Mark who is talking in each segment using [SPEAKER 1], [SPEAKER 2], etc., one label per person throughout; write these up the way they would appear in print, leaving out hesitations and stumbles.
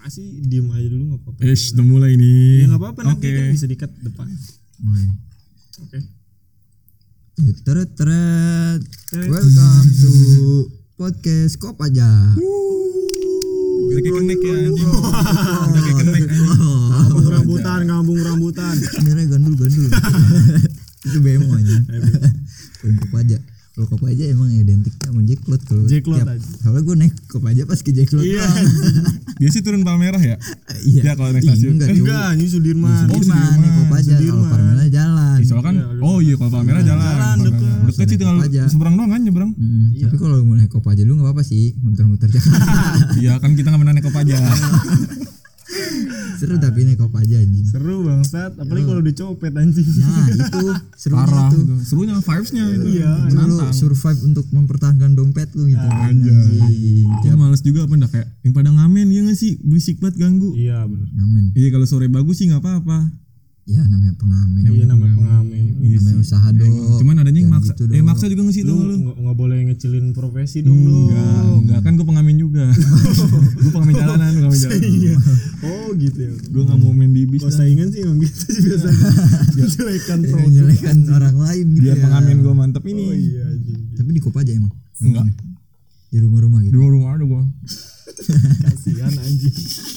[SPEAKER 1] Masih diem aja dulu nggak apa-apa.
[SPEAKER 2] Udah mulai nih.
[SPEAKER 1] Ya nggak apa-apa nanti kan bisa dikat depan.
[SPEAKER 3] Mulai.
[SPEAKER 1] Oke.
[SPEAKER 3] Teret. Welcome to podcast Kopaja.
[SPEAKER 2] Kita kayak kenek ya anjing. Kita kayak kenek anjing.
[SPEAKER 1] Ngambung rambutan.
[SPEAKER 3] Sebenarnya gandul. Itu bemo aja. Kopaja. Kalau Kopaja emang identik sama Jacklot kalau
[SPEAKER 1] Jacklot aja.
[SPEAKER 3] Soalnya gue naik Kopaja pas ke Jacklot.
[SPEAKER 1] Iya.
[SPEAKER 2] Dia sih turun Palmerah ya?
[SPEAKER 3] Iya.
[SPEAKER 2] Ya kalau naik stasiun.
[SPEAKER 1] Enggak, ini Sudirman.
[SPEAKER 3] Sudirman naik Kopaja. Kalau Palmerah jalan.
[SPEAKER 2] Soalnya kan, kalau Palmerah jalan. Deket sih tinggal seberang doang kan nyebrang.
[SPEAKER 3] Tapi kalau mau naik Kopaja dulu nggak apa-apa sih, muter-muter Jakarta.
[SPEAKER 2] Iya kan kita nggak pernah naik Kopaja.
[SPEAKER 3] Seru tapi naik Kopaja anjing.
[SPEAKER 1] Seru bangsat, apalagi kalau dicopet anjing.
[SPEAKER 3] Nah itu serunya
[SPEAKER 2] Parah
[SPEAKER 3] itu.
[SPEAKER 2] serunya vibes-nya itu.
[SPEAKER 1] Iya.
[SPEAKER 3] Lu survive untuk mempertahankan dompet lu gitu.
[SPEAKER 2] Anjing. Ya males juga apa kayak yang pada ngamen ya nggak sih, berisik banget ganggu.
[SPEAKER 1] Iya benar.
[SPEAKER 3] Ngamen.
[SPEAKER 2] Iya kalau sore bagus sih nggak apa-apa.
[SPEAKER 3] Ya namanya pengamen.
[SPEAKER 1] Iya namanya pengamen.
[SPEAKER 3] Namanya usaha dong.
[SPEAKER 2] Cuman adanya yang maksa.
[SPEAKER 3] Gitu
[SPEAKER 2] Maksa juga nggak sih tuh lu?
[SPEAKER 1] Nggak boleh ngecilin profesi dong lu.
[SPEAKER 2] Enggak kan gue pengamen juga. Gue pengamen jalanan,
[SPEAKER 1] Iya. Oh gitu ya.
[SPEAKER 2] Gue nggak mau main di bis.
[SPEAKER 1] Kalau saingan sih emang gitu sih biasanya.
[SPEAKER 3] Menjelekan orang lain gitu.
[SPEAKER 2] Biar
[SPEAKER 3] ya.
[SPEAKER 2] pengamen gue mantep ini.
[SPEAKER 1] Oh iya anjing.
[SPEAKER 3] Tapi di Kopaja emang.
[SPEAKER 2] Enggak.
[SPEAKER 3] Di rumah-rumah
[SPEAKER 2] Di
[SPEAKER 3] gitu.
[SPEAKER 2] rumah ada gue.
[SPEAKER 1] Kasihan anjing.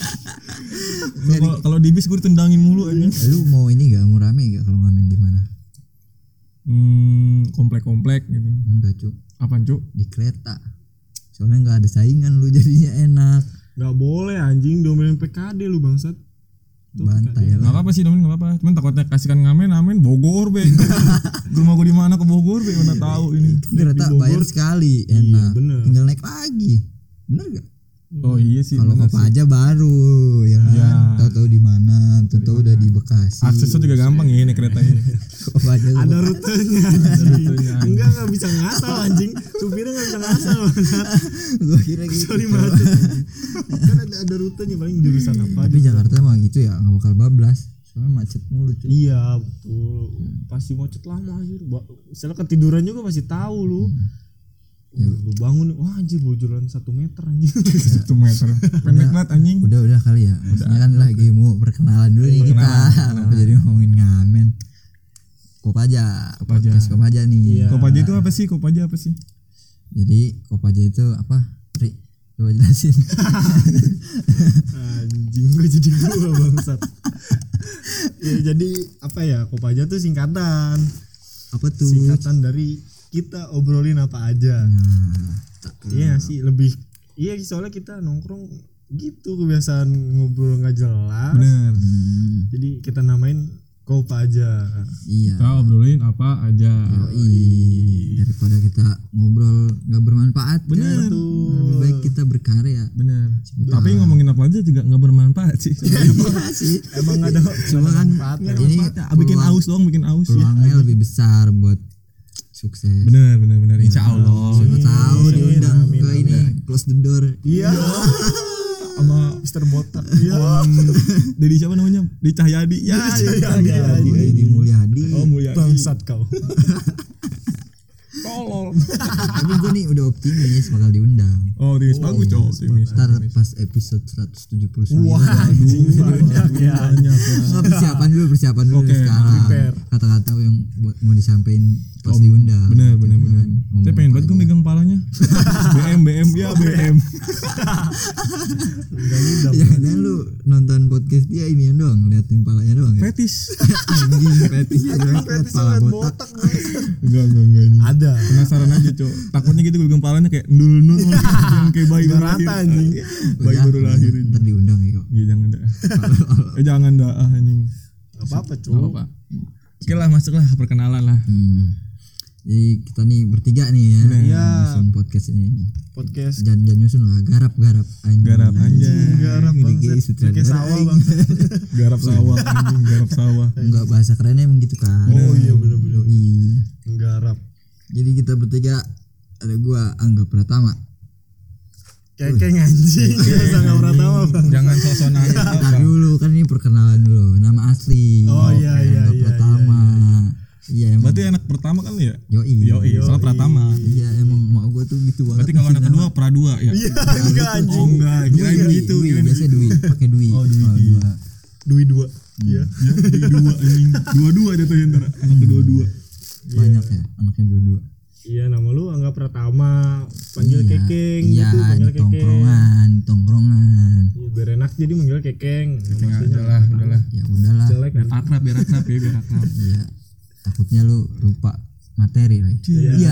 [SPEAKER 2] Kalau di bis gue ditendangin mulu anjing.
[SPEAKER 3] Lu mau ini gak? Mau rame gak kalau ngamen di mana?
[SPEAKER 2] Komplek-komplek gitu.
[SPEAKER 3] Enggak cuk.
[SPEAKER 2] Apaan cuk?
[SPEAKER 3] Di kereta. Soalnya nggak ada saingan lu jadinya enak.
[SPEAKER 1] Nggak boleh anjing diomelin PKD lu bangsat.
[SPEAKER 3] Bantai
[SPEAKER 2] Nggak
[SPEAKER 3] lah.
[SPEAKER 2] apa-apa sih domin nggak apa-apa. Cuman takutnya kasihkan ngamen Bogor be. Rumah gue di mana ke Bogor be mana tahu ini.
[SPEAKER 3] Kereta bayar sekali enak.
[SPEAKER 1] Iya, bener.
[SPEAKER 3] Tinggal naik lagi. Bener gak?
[SPEAKER 2] Oh iya sih.
[SPEAKER 3] Kalau
[SPEAKER 2] bener
[SPEAKER 3] Kopaja
[SPEAKER 2] sih.
[SPEAKER 3] baru ya kan.
[SPEAKER 2] Iya.
[SPEAKER 3] Tahu-tahu di mana, tahu-tahu udah di Bekasi.
[SPEAKER 2] Aksesnya juga gampang ya naik kereta ini.
[SPEAKER 3] Kopaja
[SPEAKER 1] Ada rutenya anjing. Enggak bisa ngasal anjing. Supirnya nggak bisa ngasal.
[SPEAKER 3] Gua kira gitu.
[SPEAKER 1] Sorry macet. Kan ada rutenya paling jurusan apa.
[SPEAKER 3] Tapi Jakarta mah gitu ya, nggak bakal bablas. Soalnya macet mulu cuy.
[SPEAKER 1] Iya betul. Pasti macet lama anjir. Misalnya ketiduran juga pasti tahu lu. Lu bangun, wah anjir bojoran 1 meter anjing.
[SPEAKER 2] 1 meter. Pendek banget anjing.
[SPEAKER 3] Udah kali ya. Maksudnya kan lagi mau perkenalan dulu nih kita. Kenapa jadi ngomongin ngamen? Kopaja. Podcast Kopaja nih.
[SPEAKER 1] Iya.
[SPEAKER 2] Kopaja itu apa sih? Kopaja apa sih?
[SPEAKER 3] Jadi Kopaja itu apa? Tri, coba jelasin.
[SPEAKER 1] Anjing gue jadi gua bangsat. Ya jadi apa ya? Kopaja tuh singkatan.
[SPEAKER 3] Apa tuh?
[SPEAKER 1] Singkatan dari kita obrolin apa aja. Iya sih lebih. Iya soalnya kita nongkrong gitu kebiasaan ngobrol nggak jelas.
[SPEAKER 2] Bener.
[SPEAKER 1] Jadi kita namain Kopaja.
[SPEAKER 3] Iya.
[SPEAKER 2] Kita obrolin apa aja.
[SPEAKER 3] Daripada kita ngobrol nggak bermanfaat.
[SPEAKER 2] Bener.
[SPEAKER 3] Kan? Lebih baik kita berkarya.
[SPEAKER 2] Bener. Tapi ngomongin apa aja juga nggak bermanfaat sih.
[SPEAKER 3] Iya sih.
[SPEAKER 1] Emang ada
[SPEAKER 3] Cuma kan ini
[SPEAKER 2] bikin aus doang, bikin aus.
[SPEAKER 3] peluangnya lebih besar buat sukses.
[SPEAKER 2] Bener. Insya Allah.
[SPEAKER 3] Siapa tahu diundang ke ini close the door.
[SPEAKER 1] Iya.
[SPEAKER 2] Sama
[SPEAKER 1] Mr. Botak. Iya.
[SPEAKER 2] Dedi siapa namanya? Dedi Cahyadi. Ya,
[SPEAKER 3] Di Mulyadi.
[SPEAKER 2] Oh, Mulyadi.
[SPEAKER 1] Bangsat kau.
[SPEAKER 2] Tolol.
[SPEAKER 3] Tapi gue nih udah optimis bakal diundang.
[SPEAKER 2] Oh, optimis bagus, cowok optimis.
[SPEAKER 3] Ntar pas episode 179.
[SPEAKER 1] Wah, anjing banyak ya.
[SPEAKER 3] Persiapan dulu
[SPEAKER 2] Oke,
[SPEAKER 3] sekarang.
[SPEAKER 1] prepare.
[SPEAKER 3] Kata-kata yang mau disampaikan pas diundang.
[SPEAKER 2] Bener.
[SPEAKER 3] Ngomong
[SPEAKER 2] Saya pengen banget gue
[SPEAKER 3] aja.
[SPEAKER 2] megang palanya. BM ya BM.
[SPEAKER 3] Ya dan lu nonton podcast dia ini doang, liatin palanya doang ya.
[SPEAKER 2] Fetis.
[SPEAKER 3] Anjing fetis pala botak.
[SPEAKER 2] Enggak.
[SPEAKER 1] Ada.
[SPEAKER 2] Penasaran aja, cowok. Takutnya gitu gue pegang palanya kayak ndul yang kayak bayi baru lahir.
[SPEAKER 1] Rata anjing.
[SPEAKER 2] Bayi baru lahir ini.
[SPEAKER 3] Ntar diundang ya kok.
[SPEAKER 2] Iya jangan dah. Jangan dah anjing.
[SPEAKER 1] Enggak apa-apa,
[SPEAKER 2] Enggak
[SPEAKER 1] Cuk.
[SPEAKER 2] apa. Oke lah, masuklah perkenalan lah.
[SPEAKER 3] Jadi kita nih bertiga nih ya.
[SPEAKER 1] Iya.
[SPEAKER 3] Nyusun podcast ini.
[SPEAKER 1] Podcast
[SPEAKER 3] Jangan nyusun lah, garap anjing.
[SPEAKER 2] Garap anjing.
[SPEAKER 1] garap
[SPEAKER 3] Jadi
[SPEAKER 1] bangsat.
[SPEAKER 3] kayak sutradara.
[SPEAKER 1] Kayak sawah bangsat.
[SPEAKER 2] Garap sawah anjing, garap sawah.
[SPEAKER 3] Enggak bahasa kerennya emang gitu kan.
[SPEAKER 1] Oh iya bener-bener.
[SPEAKER 3] Garap. Jadi kita bertiga ada gua Angga Pratama.
[SPEAKER 1] Kayak anjing. Biasa enggak pernah tahu, Bang.
[SPEAKER 2] Jangan sosok nanya.
[SPEAKER 3] Ntar dulu kan ini perkenalan dulu. Nama asli.
[SPEAKER 1] Oh iya.
[SPEAKER 3] Angga Pratama. Iya emang.
[SPEAKER 2] Berarti anak pertama kan ya?
[SPEAKER 3] Yoi.
[SPEAKER 2] Soal Pratama.
[SPEAKER 3] Iya emang mak gue tuh gitu banget.
[SPEAKER 2] Berarti kalau anak kedua pradua ya.
[SPEAKER 1] Iya, enggak anjing.
[SPEAKER 2] Oh enggak, kirain begitu.
[SPEAKER 3] Dwi,
[SPEAKER 2] Kirain
[SPEAKER 3] biasa Dwi, pakai Dwi.
[SPEAKER 2] Oh, Dwi.
[SPEAKER 3] Kalau gua,
[SPEAKER 1] Dui 2. Iya.
[SPEAKER 2] Ya, jadi dua anjing. Dua-dua jatuhnya ntar. Anak kedua-dua.
[SPEAKER 3] banyak ya anaknya dua-dua.
[SPEAKER 1] Iya, nama lu Angga Pratama, panggil
[SPEAKER 3] Iya,
[SPEAKER 1] Kekeng
[SPEAKER 3] iya,
[SPEAKER 1] gitu, panggil
[SPEAKER 3] di tongkrongan.
[SPEAKER 1] Iya, biar enak jadi manggil Kekeng.
[SPEAKER 2] Tinggal aja lah, udahlah.
[SPEAKER 3] Ya udahlah.
[SPEAKER 1] Jelek kan.
[SPEAKER 2] Biar akrab ya, biar akrab.
[SPEAKER 3] Iya. Takutnya lu lupa materi lagi.
[SPEAKER 1] Iya.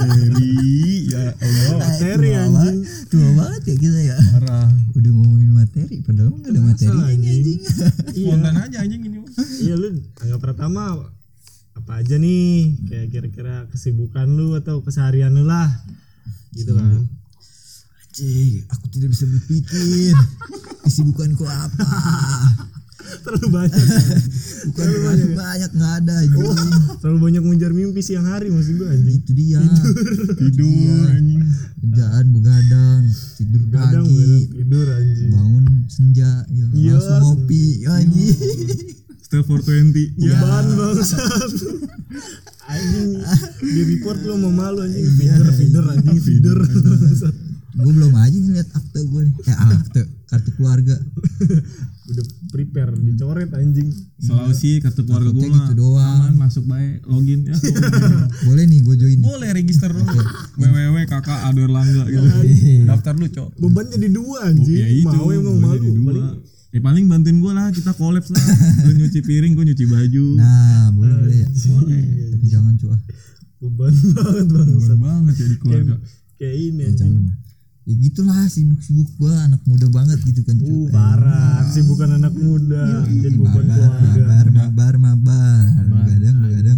[SPEAKER 2] Ya Allah.
[SPEAKER 1] Materi
[SPEAKER 3] Tua
[SPEAKER 1] anjing.
[SPEAKER 3] Tua banget ya kita ya.
[SPEAKER 2] Parah.
[SPEAKER 3] Udah ngomongin materi padahal enggak ada materi ini anjing.
[SPEAKER 1] Iya.
[SPEAKER 2] Spontan aja anjing ini.
[SPEAKER 1] Iya, lu Angga Pratama apa aja nih kayak kira-kira kesibukan lu atau keseharian lu lah gitu kan.
[SPEAKER 3] Anjing, aku tidak bisa berpikir. Kesibukanku apa?
[SPEAKER 1] Terlalu banyak.
[SPEAKER 3] Bukan terlalu banyak enggak ada anjing.
[SPEAKER 1] Terlalu banyak mengejar mimpi siang hari maksud gua anjing.
[SPEAKER 3] Itu dia.
[SPEAKER 2] Tidur anjing.
[SPEAKER 3] Kerjaan begadang, tidur
[SPEAKER 1] Kadang
[SPEAKER 3] pagi,
[SPEAKER 1] tidur anjing.
[SPEAKER 3] bangun senja, ya,
[SPEAKER 1] Iya,
[SPEAKER 3] langsung ngopi, ya, anjing.
[SPEAKER 2] Still 420.
[SPEAKER 1] Ya ban bangsat. Anjing di report lu mau malu anjing feeder anjing feeder.
[SPEAKER 3] Gue belum aja ngeliat akte gue nih. Akte kartu keluarga.
[SPEAKER 1] Udah prepare dicoret anjing.
[SPEAKER 2] Sulawesi kartu keluarga gue
[SPEAKER 3] Takutnya
[SPEAKER 2] mah
[SPEAKER 3] gitu doang.
[SPEAKER 2] aman, masuk baik, login ya.
[SPEAKER 3] Boleh nih gue join.
[SPEAKER 2] Boleh register dulu. www.kakak Ado Erlangga gitu. Daftar lu, Cok.
[SPEAKER 1] Beban jadi 2 anjing.
[SPEAKER 2] Ya itu,
[SPEAKER 1] Mau emang
[SPEAKER 2] gua
[SPEAKER 1] malu.
[SPEAKER 2] jadi dua. Paling bantuin gue lah, kita collab lah. Lu nyuci piring, gue nyuci baju.
[SPEAKER 3] Nah, boleh ya. Tapi jangan cuah.
[SPEAKER 1] Beban banget bangsat.
[SPEAKER 2] Beban banget ya di keluarga.
[SPEAKER 1] Kayak ini
[SPEAKER 3] Ya,
[SPEAKER 1] anjing.
[SPEAKER 3] jangan lah. Ya gitulah sibuk-sibuk gue anak muda banget gitu kan.
[SPEAKER 1] Parah, kesibukan anak muda jadi beban keluarga.
[SPEAKER 3] Mabar. Begadang.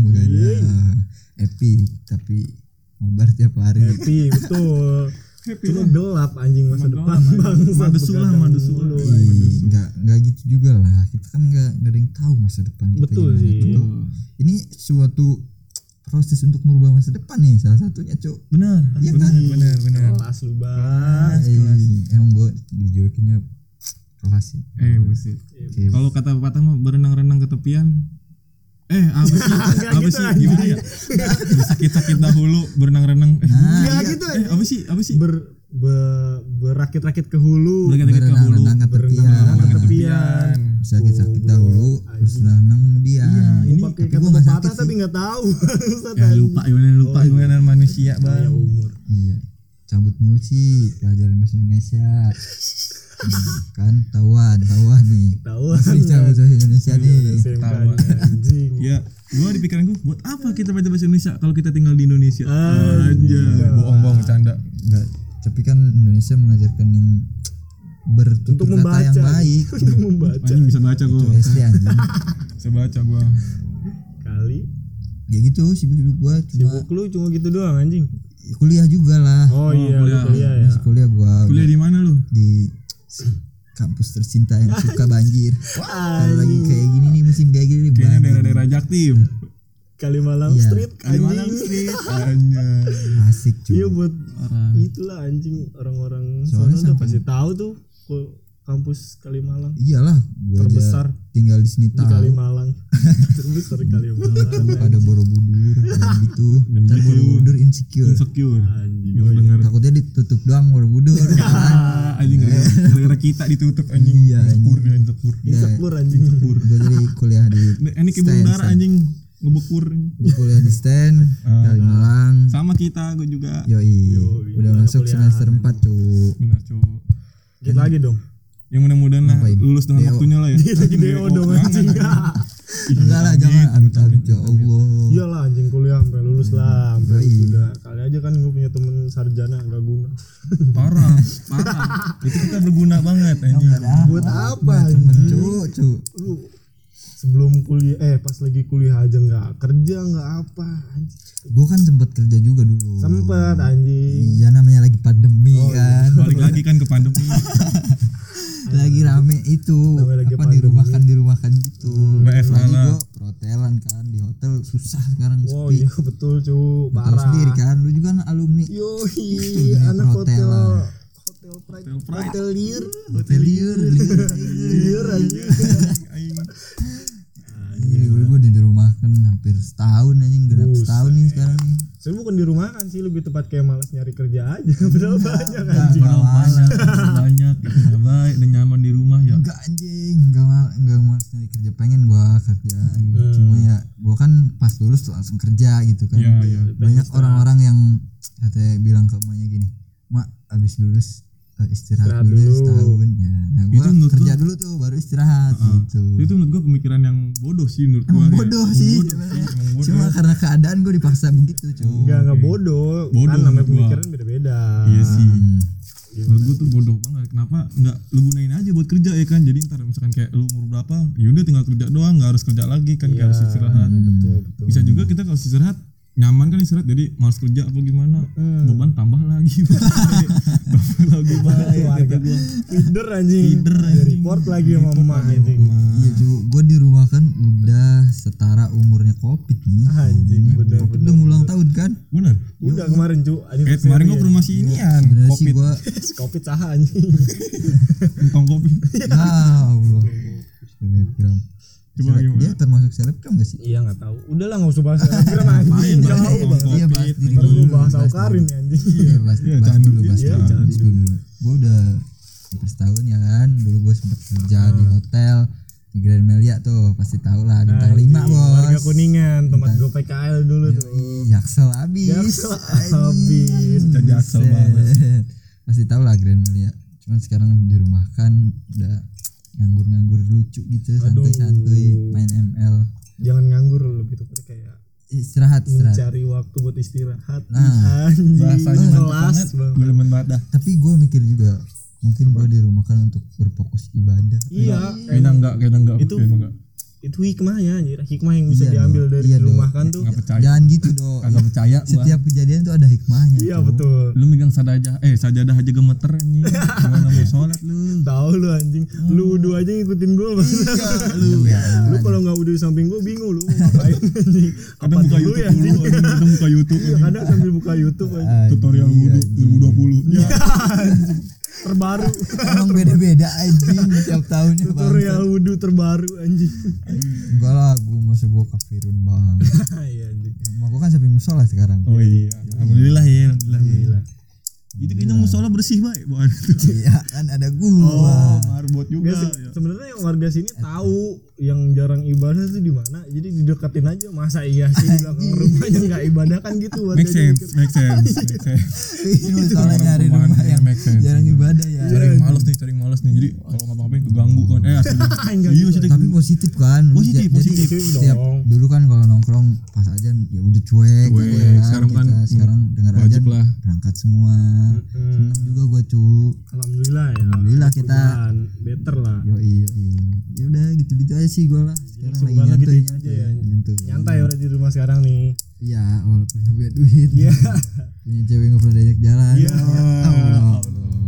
[SPEAKER 3] Epic, tapi mabar tiap hari.
[SPEAKER 1] Happy betul. Cuma gelap anjing masa depan bangsa.
[SPEAKER 2] Madesu lah.
[SPEAKER 3] Enggak gitu juga lah. Kita kan enggak ada yang tahu masa depan kita.
[SPEAKER 1] Betul
[SPEAKER 3] gimana.
[SPEAKER 1] sih.
[SPEAKER 3] Ini suatu proses untuk merubah masa depan nih, salah satunya, Cuk.
[SPEAKER 2] Benar.
[SPEAKER 3] Iya kan?
[SPEAKER 2] Benar.
[SPEAKER 1] Kelas lu bang.
[SPEAKER 3] Emang gue dijulukinnya kelas sih.
[SPEAKER 2] Mesti. Kalau kata pepatah mah berenang-renang ke tepian. Apa sih? Gimana ya? Sakit-sakit dahulu berenang-renang.
[SPEAKER 1] Enggak gitu.
[SPEAKER 2] Apa sih?
[SPEAKER 1] Berakit-rakit ke hulu.
[SPEAKER 2] Berenang-renang ke hulu.
[SPEAKER 3] Berenang ke
[SPEAKER 1] Berenang ke
[SPEAKER 3] tepian.
[SPEAKER 1] tepian.
[SPEAKER 3] Sakit-sakit dahulu, terus renang kemudian.
[SPEAKER 2] Ini
[SPEAKER 1] Pakai
[SPEAKER 3] tapi
[SPEAKER 1] kata
[SPEAKER 3] gua nggak
[SPEAKER 1] pepatah
[SPEAKER 3] sakit
[SPEAKER 1] tapi
[SPEAKER 3] sih.
[SPEAKER 1] nggak tahu.
[SPEAKER 2] Ya lupa gimana manusia,
[SPEAKER 1] Ya
[SPEAKER 2] Bang.
[SPEAKER 1] umur.
[SPEAKER 3] Iya. Cabut mulu sih pelajaran bahasa Indonesia. Kan tahuan nih.
[SPEAKER 1] Tahu.
[SPEAKER 3] Masih cabut bahasa Indonesia nih.
[SPEAKER 1] Anjing.
[SPEAKER 2] Ya, gua di pikiran gua, buat apa kita baca bahasa Indonesia kalau kita tinggal di Indonesia?
[SPEAKER 1] Anjing.
[SPEAKER 2] Aja, bohong canda.
[SPEAKER 3] Enggak, tapi kan Indonesia mengajarkan yang bertutur
[SPEAKER 1] Untuk
[SPEAKER 3] kata yang
[SPEAKER 1] membaca.
[SPEAKER 3] baik.
[SPEAKER 1] Untuk membaca.
[SPEAKER 2] Anjing bisa baca gua.
[SPEAKER 3] SD anjing.
[SPEAKER 2] Bisa baca gua.
[SPEAKER 1] Kali.
[SPEAKER 3] Ya gitu sibuk gua cuma
[SPEAKER 1] Sibuk lu cuma gitu doang anjing.
[SPEAKER 3] kuliah juga lah.
[SPEAKER 1] Oh iya,
[SPEAKER 2] kuliah.
[SPEAKER 1] lu kuliah ya.
[SPEAKER 3] Masih kuliah gua
[SPEAKER 2] Kuliah di mana lu?
[SPEAKER 3] di kampus tercinta yang suka banjir. Kalau lagi kayak gini nih musim kayak gini nih
[SPEAKER 2] Kayaknya
[SPEAKER 3] banjir.
[SPEAKER 2] daerah-daerah Jaktim.
[SPEAKER 1] Kalimalang
[SPEAKER 3] Iya.
[SPEAKER 1] Street
[SPEAKER 2] Kalimalang
[SPEAKER 1] anjing.
[SPEAKER 2] Street. Anjing.
[SPEAKER 3] Asik cuy.
[SPEAKER 1] Iya buat
[SPEAKER 2] Parah.
[SPEAKER 1] itulah anjing orang-orang
[SPEAKER 3] Soalnya
[SPEAKER 1] sana udah
[SPEAKER 3] sampai-
[SPEAKER 1] pasti tahu tuh kampus Kalimalang
[SPEAKER 3] Iyalah, gua
[SPEAKER 1] Terbesar
[SPEAKER 3] aja tinggal di sini
[SPEAKER 1] di
[SPEAKER 3] tahu.
[SPEAKER 1] Kalimalang. Terbesar di Kalimalang.
[SPEAKER 3] Ada Borobudur kayak gitu. Dan
[SPEAKER 2] gitu.
[SPEAKER 3] Borobudur insecure.
[SPEAKER 2] Insecure.
[SPEAKER 1] Anjing.
[SPEAKER 2] Gua denger.
[SPEAKER 3] Takutnya ditutup doang Borobudur.
[SPEAKER 2] Anjing gara-gara kita ditutup anjing.
[SPEAKER 3] Iya,
[SPEAKER 2] Insecure dia insecure.
[SPEAKER 1] Insecure anjing.
[SPEAKER 3] Gue jadi kuliah di
[SPEAKER 2] Ini kayak burung dara anjing ngebekur.
[SPEAKER 3] Gua kuliah di stand Kalimalang.
[SPEAKER 2] Sama kita, gue juga.
[SPEAKER 3] Yoi. Udah
[SPEAKER 1] ada
[SPEAKER 3] masuk
[SPEAKER 1] kuliahan.
[SPEAKER 3] semester 4 cuy.
[SPEAKER 2] Benar, Cuk.
[SPEAKER 1] Dikit lagi dong.
[SPEAKER 2] Yang mudah-mudahan lah
[SPEAKER 3] Ngapain?
[SPEAKER 2] lulus dengan
[SPEAKER 3] DO.
[SPEAKER 2] waktunya lah ya.
[SPEAKER 1] Dikit lagi DO dong anjing.
[SPEAKER 3] Enggak lah, jangan amit-amit ya Allah.
[SPEAKER 1] Iyalah anjing kuliah sampai lulus lah, sampai
[SPEAKER 3] Yoi.
[SPEAKER 1] sudah. Kali aja kan gue punya temen sarjana enggak guna.
[SPEAKER 2] Parah. Itu kita berguna banget anjing.
[SPEAKER 1] Buat apa
[SPEAKER 3] Temen
[SPEAKER 1] anjing?
[SPEAKER 3] cuy.
[SPEAKER 1] Lu sebelum kuliah pas lagi kuliah aja enggak kerja enggak apa anjing.
[SPEAKER 3] Gue kan sempat kerja juga dulu.
[SPEAKER 1] Sempet anjing.
[SPEAKER 3] Iya namanya lagi pandemi kan.
[SPEAKER 2] Balik lagi kan ke pandemi.
[SPEAKER 3] Lagi rame itu
[SPEAKER 1] Namanya lagi
[SPEAKER 3] apa
[SPEAKER 1] pandemi.
[SPEAKER 3] dirumahkan gitu.
[SPEAKER 2] WFH
[SPEAKER 3] Lagi
[SPEAKER 2] lah.
[SPEAKER 3] gue perhotelan kan di hotel susah sekarang
[SPEAKER 1] Wow
[SPEAKER 3] sepi.
[SPEAKER 1] iya betul cu,
[SPEAKER 3] Tahu
[SPEAKER 1] parah.
[SPEAKER 3] sendiri kan, lu juga kan alumni.
[SPEAKER 1] Yoi,
[SPEAKER 3] dunia
[SPEAKER 1] anak hotel
[SPEAKER 3] perhotelan.
[SPEAKER 1] Hotel Pride,
[SPEAKER 2] Hotel Pride.
[SPEAKER 1] hotelier,
[SPEAKER 3] Hotelier.
[SPEAKER 1] hotelier anjing.
[SPEAKER 3] Iya, gue dirumahkan hampir setahun anjing, genap setahun nih sekarang nih.
[SPEAKER 1] Saya bukan di rumah kan, bukan sih, lebih tepat kayak malas nyari kerja aja. Padahal banyak anjing.
[SPEAKER 2] banyak ya baik dan nyaman di rumah ya.
[SPEAKER 3] Enggak anjing, enggak malas nyari kerja, pengen gua kerja. Cuma ya gua kan pas lulus tuh langsung kerja gitu kan.
[SPEAKER 2] Iya.
[SPEAKER 3] Banyak orang-orang yang katanya bilang ke emaknya gini, "Mak, abis lulus istirahat dulu setahun." Ya, nah gua kerja dulu tuh baru istirahat gitu.
[SPEAKER 2] Itu menurut gua pemikiran yang bodoh sih menurut gua.
[SPEAKER 3] Emang bodoh sih. Cuma karena keadaan gua dipaksa begitu, cuy.
[SPEAKER 1] Enggak bodoh. Kan namanya pemikiran beda-beda.
[SPEAKER 2] Iya sih. Menurut gue tuh bodoh banget. Kenapa nggak lu gunain aja buat kerja ya kan? Jadi ntar misalkan kayak lu umur berapa, yaudah tinggal kerja doang, nggak harus kerja lagi kan, kayak harus istirahat.
[SPEAKER 1] Betul.
[SPEAKER 2] Bisa juga kita kalau istirahat nyaman kan istirahat, jadi malas kerja apa gimana, beban tambah lagi. Tambah lagi
[SPEAKER 1] Warga feeder anjing. Report lagi sama emak anjing.
[SPEAKER 3] Iya cuy, gue di rumah kan udah setara umurnya Covid nih.
[SPEAKER 1] Anjing bener.
[SPEAKER 3] Udah ulang tahun kan?
[SPEAKER 2] Bener.
[SPEAKER 1] Udah kemarin cu.
[SPEAKER 2] Kayak kemarin gua ke rumah si inian.
[SPEAKER 3] Sebenarnya sih gue
[SPEAKER 1] Covid saha anjing.
[SPEAKER 2] Tong kopi.
[SPEAKER 3] Allah. Selebgram.
[SPEAKER 2] Coba gimana?
[SPEAKER 3] Dia termasuk selebgram gak sih?
[SPEAKER 1] Iya enggak tahu. Udah lah enggak usah bahas selebgram anjing. Jauh banget.
[SPEAKER 3] Iya bahas diri
[SPEAKER 1] Baru
[SPEAKER 3] dulu.
[SPEAKER 1] lu bahas Aukarin ya anjing.
[SPEAKER 3] Iya bahas dulu. Gue udah hampir setahun ya kan. Dulu gue sempet kerja di hotel di Grand Melia tuh, pasti tau lah, bintang 5 bos.
[SPEAKER 1] Warga Kuningan, tempat gue PKL dulu tuh.
[SPEAKER 3] Jaksel abis.
[SPEAKER 2] Jaksel banget.
[SPEAKER 3] Pasti tau lah Grand Melia. Cuman sekarang dirumahkan, udah nganggur lucu gitu, santuy main ML.
[SPEAKER 1] Jangan nganggur, lebih tepatnya kayak
[SPEAKER 3] istirahat.
[SPEAKER 1] Mencari waktu buat istirahat.
[SPEAKER 3] Nah,
[SPEAKER 1] anjing.
[SPEAKER 2] Bahasanya
[SPEAKER 1] Kelas
[SPEAKER 2] banget. Gue demen banget dah.
[SPEAKER 3] tapi gue mikir juga mungkin gue dirumahkan untuk berfokus ibadah.
[SPEAKER 1] Iya,
[SPEAKER 2] Kayaknya enggak.
[SPEAKER 1] Itu itu hikmahnya anjir. Hikmah yang bisa
[SPEAKER 3] Iya
[SPEAKER 1] diambil dari
[SPEAKER 3] iya
[SPEAKER 1] dirumahkan tuh.
[SPEAKER 2] Enggak percaya.
[SPEAKER 3] Jangan gitu dong.
[SPEAKER 2] Kagak percaya gua.
[SPEAKER 3] Setiap kejadian tuh ada hikmahnya.
[SPEAKER 1] Iya
[SPEAKER 3] tuh.
[SPEAKER 1] betul.
[SPEAKER 2] Lu megang sajadah aja gemeter anjing. Gimana mau sholat lu?
[SPEAKER 1] Tahu lu anjing. Lu wudu aja ngikutin gua Bang.
[SPEAKER 3] Iya,
[SPEAKER 1] Lu kalau enggak wudu di samping gua bingung lu mau ngapain anjing.
[SPEAKER 2] Kadang buka YouTube
[SPEAKER 1] ya
[SPEAKER 2] dulu,
[SPEAKER 1] anjing?
[SPEAKER 2] kadang buka YouTube.
[SPEAKER 1] Iya, kadang sambil buka YouTube anjing.
[SPEAKER 2] Tutorial wudu 2020.
[SPEAKER 1] Iya anjing. Terbaru.
[SPEAKER 3] Emang beda-beda anjing tiap tahunnya bang.
[SPEAKER 1] Tutorial wudu terbaru anjing.
[SPEAKER 3] Enggak lah, gue kafirun bang.
[SPEAKER 1] Iya anjing.
[SPEAKER 3] Rumah gue kan sampai musola sekarang.
[SPEAKER 2] Oh iya. Alhamdulillah ya, alhamdulillah. Itu kayaknya musola bersih baik, bukan?
[SPEAKER 3] Iya kan ada gua.
[SPEAKER 2] Marbot juga.
[SPEAKER 1] Enggak sih, sebenarnya yang warga sini tahu yang jarang ibadah tuh di mana, jadi dideketin aja. Masa iya sih di belakang rumahnya nggak ibadah kan gitu.
[SPEAKER 2] Make sense.
[SPEAKER 3] Ini musola nyari rumah yang
[SPEAKER 2] make sense.
[SPEAKER 3] jarang ibadah ya.
[SPEAKER 2] Cari males nih. Jadi kalau ngapa-ngapain keganggu kan. Asli. Iya sih.
[SPEAKER 3] Tapi positif kan.
[SPEAKER 2] Positif.
[SPEAKER 3] Jadi setiap dulu kan kalau nongkrong pas ajan ya udah cuek. Ya
[SPEAKER 2] Sekarang kan
[SPEAKER 3] sekarang dengar aja berangkat semua. Senang juga gua cu.
[SPEAKER 1] Alhamdulillah ya.
[SPEAKER 3] Alhamdulillah kita
[SPEAKER 1] better lah.
[SPEAKER 3] Yoi. Ya udah gitu-gitu aja sih gua lah. Sekarang lagi
[SPEAKER 1] Semoga
[SPEAKER 3] nyantuy
[SPEAKER 1] gitu aja ya.
[SPEAKER 3] Nyantuy.
[SPEAKER 1] Nyantai udah di rumah sekarang nih.
[SPEAKER 3] Iya, walaupun gak punya duit.
[SPEAKER 1] Iya.
[SPEAKER 3] Punya cewek gak pernah diajak jalan.
[SPEAKER 1] Iya.
[SPEAKER 3] Allah.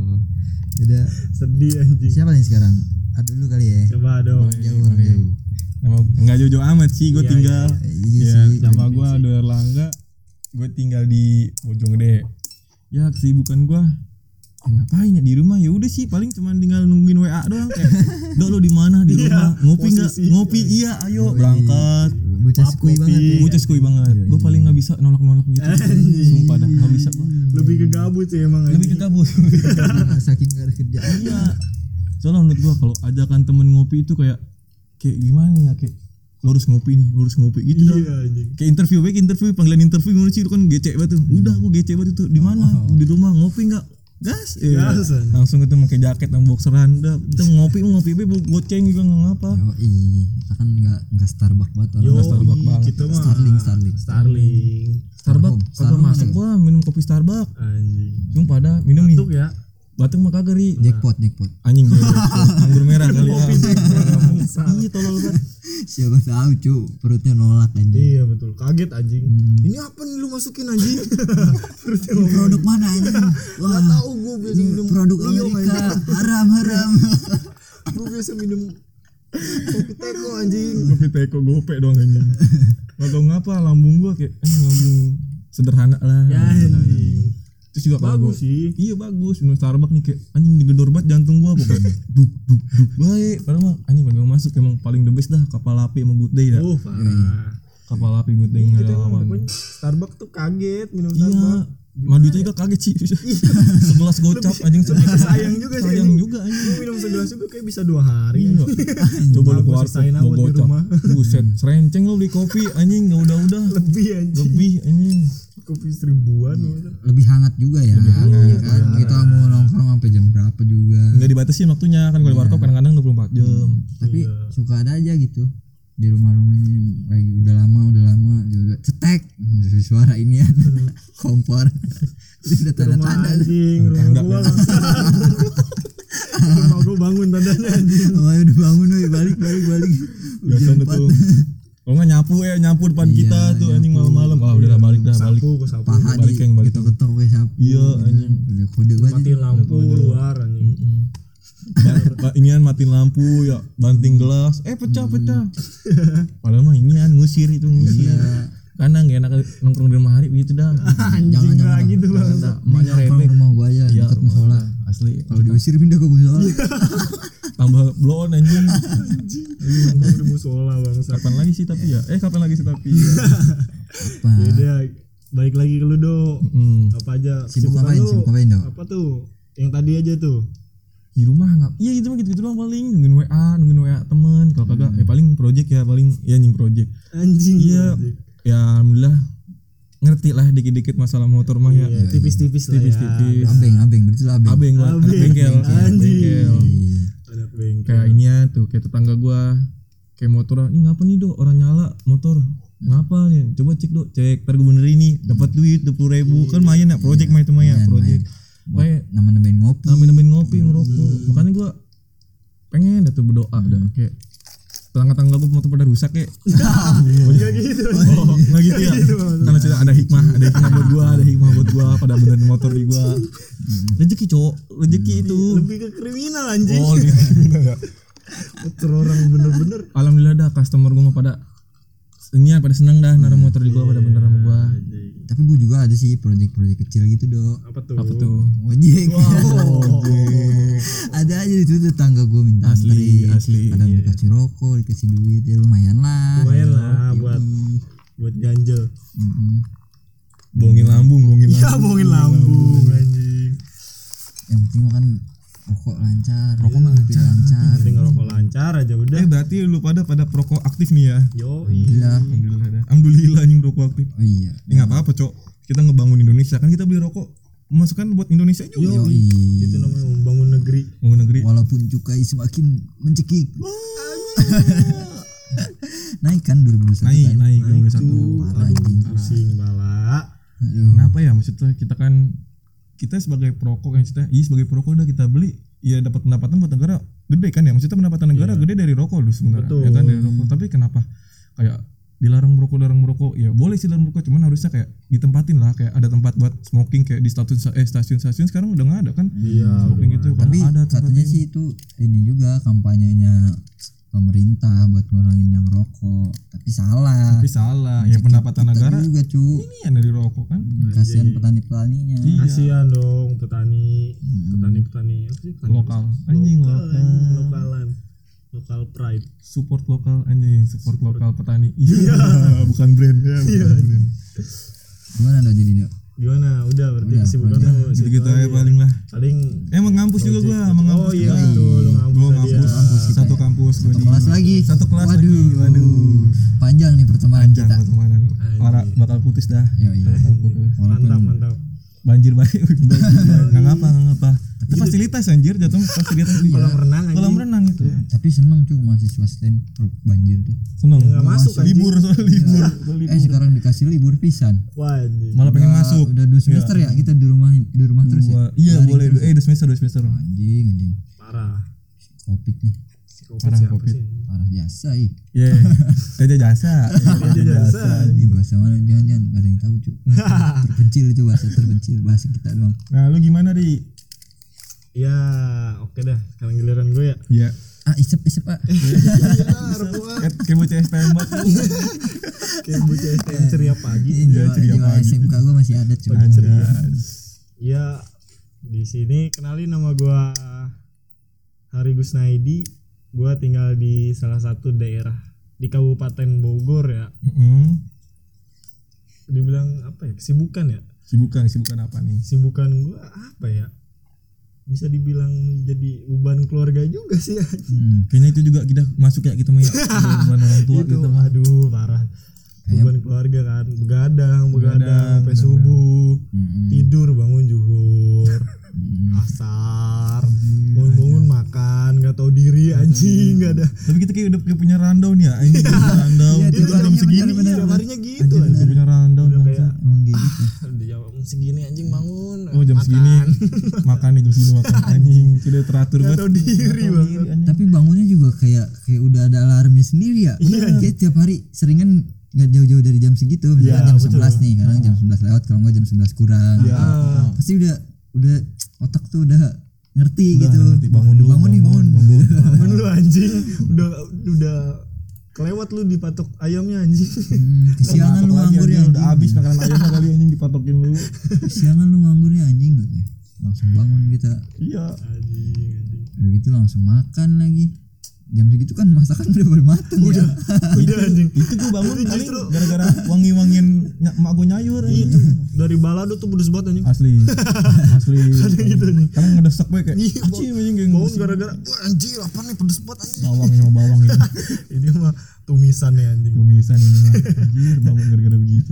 [SPEAKER 3] Udah.
[SPEAKER 1] Sedih anjing.
[SPEAKER 3] Siapa nih sekarang? Adu dulu kali ya.
[SPEAKER 1] Coba dong.
[SPEAKER 3] Jauh.
[SPEAKER 2] Enggak jauh-jauh amat sih, gue
[SPEAKER 1] Iya,
[SPEAKER 2] tinggal.
[SPEAKER 3] Iya
[SPEAKER 2] Ya,
[SPEAKER 3] sih.
[SPEAKER 2] nama gue Ado Erlangga. Gue tinggal di Bojonggede. Ya, kesibukan gue ngapain ya di rumah, ya udah sih paling cuma tinggal nungguin WA doang kayak Dok lu di mana di rumah, ngopi nggak? Ngopi iya ayo berangkat.
[SPEAKER 3] Bocah skui banget ya.
[SPEAKER 2] Bocah skui banget. Gue paling nggak bisa nolak gitu. Sumpah dah nggak bisa gue.
[SPEAKER 1] Lebih ke gabut sih emang.
[SPEAKER 2] Lebih ke gabut.
[SPEAKER 3] Saking gak ada kerjaan.
[SPEAKER 2] Iya. Soalnya menurut gue kalau ajakan temen ngopi itu kayak gimana ya, kayak lu harus ngopi gitu dah.
[SPEAKER 1] Iya anjing.
[SPEAKER 2] Kayak interview panggilan interview gimana sih, lu kan gecek banget tuh. Udah aku gecek banget tuh. Di mana? Di rumah ngopi enggak? Gas.
[SPEAKER 1] Gas.
[SPEAKER 2] Langsung itu pakai jaket dan boxeran. Udah kita ngopi goceng juga enggak ngapa.
[SPEAKER 3] Kita kan enggak Starbucks banget orang.
[SPEAKER 2] Nggak Starbucks banget.
[SPEAKER 1] Kita mah
[SPEAKER 3] Starling.
[SPEAKER 2] Kagak masuk gua minum kopi Starbucks.
[SPEAKER 1] Anjing.
[SPEAKER 2] Sumpah dah minum nih.
[SPEAKER 1] Batuk ya.
[SPEAKER 2] Batuk mah kagak ri.
[SPEAKER 3] Jackpot.
[SPEAKER 2] Anjing anggur merah kali ya. Iya tolol banget.
[SPEAKER 3] Siapa tahu cu perutnya nolak anjing.
[SPEAKER 1] Iya betul, kaget anjing. Ini apa nih lu masukin anjing?
[SPEAKER 3] Ini produk mana anjing?
[SPEAKER 1] Wah, tahu gua biasa minum
[SPEAKER 3] produk
[SPEAKER 1] Rio,
[SPEAKER 3] Amerika.
[SPEAKER 1] anjing.
[SPEAKER 3] Haram.
[SPEAKER 1] Gua biasa minum kopi teko anjing.
[SPEAKER 2] Kopi teko gope doang anjing. Enggak tahu ngapa lambung gua kayak lambung sederhana lah.
[SPEAKER 1] Ya anjing.
[SPEAKER 2] Terus juga
[SPEAKER 1] Bagus sih.
[SPEAKER 2] Iya bagus, minum Starbucks nih kayak anjing digedor banget jantung gua pokoknya. Duk baik. Padahal mah anjing paling masuk emang paling the best dah, kapal api sama Good Day dah.
[SPEAKER 1] Parah.
[SPEAKER 2] kapal api gue tinggal
[SPEAKER 1] Gitu emang
[SPEAKER 2] lawan.
[SPEAKER 1] pokoknya Starbucks tuh kaget minum
[SPEAKER 2] Iya,
[SPEAKER 1] Starbucks.
[SPEAKER 2] madu juga kaget sih. Segelas gocap anjing segelas.
[SPEAKER 1] Sayang juga sih.
[SPEAKER 2] Sayang juga anjing.
[SPEAKER 1] Gue minum segelas juga kayak bisa 2 hari.
[SPEAKER 2] Iya. Coba lu
[SPEAKER 1] Gua
[SPEAKER 2] keluar
[SPEAKER 1] sisain
[SPEAKER 2] mau
[SPEAKER 1] awet di
[SPEAKER 2] gocap.
[SPEAKER 1] rumah.
[SPEAKER 2] Buset, serenceng lu beli kopi anjing enggak udah.
[SPEAKER 1] Lebih anjing.
[SPEAKER 2] Lebih anjing.
[SPEAKER 1] Kopi 1000-an.
[SPEAKER 3] Lebih hangat juga ya.
[SPEAKER 2] Lebih hangat,
[SPEAKER 3] ya kan. Kita mau nongkrong sampai jam berapa juga.
[SPEAKER 2] Enggak dibatasi waktunya kan kalau di warkop kadang-kadang 24 jam.
[SPEAKER 3] Tapi suka ada aja gitu di rumah-rumahnya yang lagi udah lama juga cetek suara ini ya kompor itu udah tanda-tanda
[SPEAKER 1] Anjing, rumah gua langsung. Rumah gua bangun tandanya anjing.
[SPEAKER 3] udah bangun woi balik
[SPEAKER 2] Biasanya tuh. Kalau nggak nyapu depan kita tuh anjing malam-malam. Ah udah balik dah balik.
[SPEAKER 1] Sapu, gua sapu.
[SPEAKER 3] paha
[SPEAKER 2] Balik, Keng, balik.
[SPEAKER 3] ketok woi sapu
[SPEAKER 2] Iya anjing.
[SPEAKER 3] udah kode banget
[SPEAKER 1] Matiin lampu luar anjing.
[SPEAKER 2] Inian matiin lampu ya banting gelas pecah padahal mah inian ngusir karena nggak enak nongkrong di rumah hari begitu dah
[SPEAKER 1] Anjing lah gitu bang.
[SPEAKER 2] emaknya
[SPEAKER 3] nongkrong
[SPEAKER 2] rebek
[SPEAKER 3] rumah gua aja
[SPEAKER 2] ya
[SPEAKER 3] dekat musola
[SPEAKER 2] asli
[SPEAKER 3] kalau diusir pindah ke musola
[SPEAKER 2] tambah blow on anjing
[SPEAKER 1] Nongkrong di musola bang.
[SPEAKER 2] kapan lagi sih tapi
[SPEAKER 3] apa
[SPEAKER 1] Beda. Baik lagi ke lu Do. Apa aja?
[SPEAKER 3] Sibuk
[SPEAKER 1] kesibukan lu?
[SPEAKER 3] ngapain Do?
[SPEAKER 1] Apa tuh? Yang tadi aja tuh.
[SPEAKER 2] di rumah nggak iya gitu mah gitu doang paling nungguin WA temen kalau kagak paling project ya paling ya anjing project
[SPEAKER 1] Anjing.
[SPEAKER 2] iya ya alhamdulillah ngerti lah dikit-dikit masalah motor mah ya
[SPEAKER 1] Iya, tipis-tipis lah ya.
[SPEAKER 2] tipis-tipis
[SPEAKER 3] abeng berarti lu abeng
[SPEAKER 2] abeng gua anak bengkel
[SPEAKER 1] Anjing. Anak bengkel.
[SPEAKER 2] kayak ini ya tuh kayak tetangga gua kayak motor ini ngapa nih Do orang nyala motor ngapa nih coba cek Do cek ntar gua benerin ini dapat duit 20.000 kan lumayan ya project mah itu mah ya project kayak
[SPEAKER 3] nambahin ngopi
[SPEAKER 2] nambahin ngopi ngerokok makanya gua pengen dah tuh berdoa dah kayak tetangga gua motor pada rusak kayak
[SPEAKER 1] Enggak gitu.
[SPEAKER 2] nggak gitu ya karena sudah ada hikmah buat gua pada benerin motor di gua rezeki itu
[SPEAKER 1] Lebih ke kriminal anjing.
[SPEAKER 2] oh gitu
[SPEAKER 1] Motor orang bener-bener.
[SPEAKER 2] alhamdulillah dah customer gua mah pada pada seneng dah naruh motor di gua pada bener sama gua
[SPEAKER 3] tapi gue juga ada sih proyek-proyek kecil gitu Do
[SPEAKER 1] Apa tuh?
[SPEAKER 2] apa tuh
[SPEAKER 3] ojek ada aja itu tetangga gue minta
[SPEAKER 2] asli
[SPEAKER 3] kadang dikasih rokok dikasih duit ya lumayan lah
[SPEAKER 1] buat ganjel.
[SPEAKER 2] bohongin lambung
[SPEAKER 1] Iya bohongin lambung anjing.
[SPEAKER 3] yang penting mah kan rokok lancar rokok mah lebih lancar
[SPEAKER 1] Tinggal rokok lancar aja udah.
[SPEAKER 2] berarti lu pada perokok aktif nih ya
[SPEAKER 1] Yo,
[SPEAKER 2] alhamdulillah anjing rokok aktif
[SPEAKER 3] oh iya
[SPEAKER 2] nggak apa-apa Cok kita ngebangun Indonesia kan kita beli rokok masukkan buat Indonesia juga
[SPEAKER 1] itu namanya membangun negeri.
[SPEAKER 3] walaupun cukai semakin mencekik naik kan 2021
[SPEAKER 2] naik
[SPEAKER 1] Tuh,
[SPEAKER 2] 2021
[SPEAKER 1] aduh, pusing bala.
[SPEAKER 2] kenapa ya maksudnya kita sebagai perokok kan sebagai perokok udah kita beli ya dapat pendapatan buat negara gede kan ya maksudnya pendapatan negara gede dari rokok lu sebenarnya ya kan dari rokok tapi kenapa kayak dilarang merokok ya boleh sih dilarang merokok cuman harusnya kayak ditempatin lah kayak ada tempat buat smoking kayak di stasiun sekarang udah nggak ada kan smoking gitu
[SPEAKER 3] tapi
[SPEAKER 2] ada
[SPEAKER 3] katanya sih itu ini juga kampanyenya pemerintah buat ngurangin yang rokok tapi salah
[SPEAKER 2] ya pendapatan
[SPEAKER 3] kita
[SPEAKER 2] negara
[SPEAKER 3] juga cu
[SPEAKER 2] ini yang dari rokok kan
[SPEAKER 3] kasihan petani-petaninya
[SPEAKER 1] Kasihan dong petani apa sih? Petani
[SPEAKER 2] lokal anjing
[SPEAKER 1] lokal pride.
[SPEAKER 2] support lokal petani iya bukan brand ya bukan brand
[SPEAKER 3] gimana Do jadi Do
[SPEAKER 1] Gimana? Udah berarti
[SPEAKER 3] Udah,
[SPEAKER 1] kesibukan lu
[SPEAKER 2] gitu aja paling lah emang ngampus juga gua emang ngampus
[SPEAKER 1] Oh iya betul lu ngampus
[SPEAKER 2] gua
[SPEAKER 1] tadi ya.
[SPEAKER 2] ngampus satu kampus gua di
[SPEAKER 3] kelas lagi
[SPEAKER 2] satu kelas
[SPEAKER 3] waduh
[SPEAKER 2] lagi
[SPEAKER 3] panjang nih pertemanan kita
[SPEAKER 2] pertemanan orang bakal putus dah
[SPEAKER 3] iya
[SPEAKER 2] bakal putus
[SPEAKER 1] Mantap.
[SPEAKER 2] banjir baik nggak ngapa itu fasilitas anjir jatuh fasilitas di kolam renang itu
[SPEAKER 3] tapi seneng cuy mahasiswa STEM banjir tuh
[SPEAKER 2] seneng
[SPEAKER 1] Nggak masuk, anjing.
[SPEAKER 2] libur soal libur
[SPEAKER 3] sekarang dikasih libur pisan
[SPEAKER 1] Wah anjing.
[SPEAKER 2] malah pengen masuk
[SPEAKER 3] udah 2 semester ya kita di rumah terus ya
[SPEAKER 2] iya
[SPEAKER 3] Daring
[SPEAKER 2] boleh
[SPEAKER 3] terus.
[SPEAKER 2] 2 semester
[SPEAKER 3] anjing
[SPEAKER 1] Parah.
[SPEAKER 3] covid nih
[SPEAKER 2] Parah,
[SPEAKER 1] Siapa
[SPEAKER 2] Covid.
[SPEAKER 1] sih?
[SPEAKER 3] parah jasa
[SPEAKER 2] iya jasa
[SPEAKER 3] ini bahasa mana jangan gak ada yang tahu cuy terpencil itu bahasa kita doang
[SPEAKER 2] nah lu gimana Ri
[SPEAKER 1] Ya oke dah. Sekarang giliran gue ya.
[SPEAKER 2] iya
[SPEAKER 3] isep pak
[SPEAKER 2] kayak bocah STM banget
[SPEAKER 1] Kayak bocah STM ceria pagi.
[SPEAKER 3] jiwa SMK gue masih ada cuy
[SPEAKER 1] Ya di sini kenalin nama gue Hari Gusnaidi. Gue tinggal di salah satu daerah di Kabupaten Bogor ya. Dibilang apa ya? Kesibukan ya?
[SPEAKER 2] Sibukan apa nih?
[SPEAKER 1] Sibukan gua apa ya? Bisa dibilang jadi beban keluarga juga sih.
[SPEAKER 2] Kayaknya itu juga kita masuk ya kita punya beban orang tua
[SPEAKER 1] Itu
[SPEAKER 2] gitu.
[SPEAKER 1] aduh parah. Beban keluarga kan, begadang sampai subuh, tidur bangun zuhur, asar, bangun makan, nggak tahu diri anjing, nggak ada.
[SPEAKER 2] Tapi kita kayak udah punya rundown ya, ini rundown.
[SPEAKER 1] Iya,
[SPEAKER 2] Tidur jam segini,
[SPEAKER 1] tiap harinya gitu.
[SPEAKER 2] udah punya rundown.
[SPEAKER 1] Udah kayak
[SPEAKER 3] Emang kayak gitu.
[SPEAKER 1] di jam segini anjing bangun.
[SPEAKER 2] Oh jam
[SPEAKER 1] makan.
[SPEAKER 2] segini makan nih jam segini makan anjing sudah teratur
[SPEAKER 1] Nggak
[SPEAKER 2] banget.
[SPEAKER 1] tahu diri banget.
[SPEAKER 3] Tapi bangunnya juga kayak udah ada alarmnya sendiri ya. Kayak tiap hari seringan nggak jauh-jauh dari jam segitu, misalnya jam 11 nih, kadang jam 11 lewat, kalau nggak jam 11 kurang. Pasti udah otak tuh udah ngerti
[SPEAKER 2] Udah
[SPEAKER 3] gitu.
[SPEAKER 2] ngerti, bangun
[SPEAKER 1] Bangun lu anjing, udah kelewat lu dipatok ayamnya anjing.
[SPEAKER 3] Kesiangan lu nganggur ya
[SPEAKER 2] udah habis makanan ayamnya kali anjing dipatokin lu.
[SPEAKER 3] Kesiangan lu nganggurnya anjing katanya. Langsung bangun kita.
[SPEAKER 2] Iya.
[SPEAKER 1] Anjing.
[SPEAKER 3] Udah gitu langsung makan lagi. Jam segitu kan masakan udah mateng ya.
[SPEAKER 1] Udah anjing.
[SPEAKER 2] Itu gue bangun paling gara-gara wangi-wangin emak gue nyayur
[SPEAKER 1] Itu dari balado tuh pedes banget anjing.
[SPEAKER 2] asli
[SPEAKER 1] Gitu nih.
[SPEAKER 2] karena ngedesek gue kayak
[SPEAKER 1] Iya,
[SPEAKER 2] anjing kayak
[SPEAKER 1] bangun gara-gara wah anjir apa nih pedes banget anjing.
[SPEAKER 2] bawang ini
[SPEAKER 1] Ini mah tumisan ya anjing.
[SPEAKER 2] tumisan ini mah anjir bangun gara-gara begitu.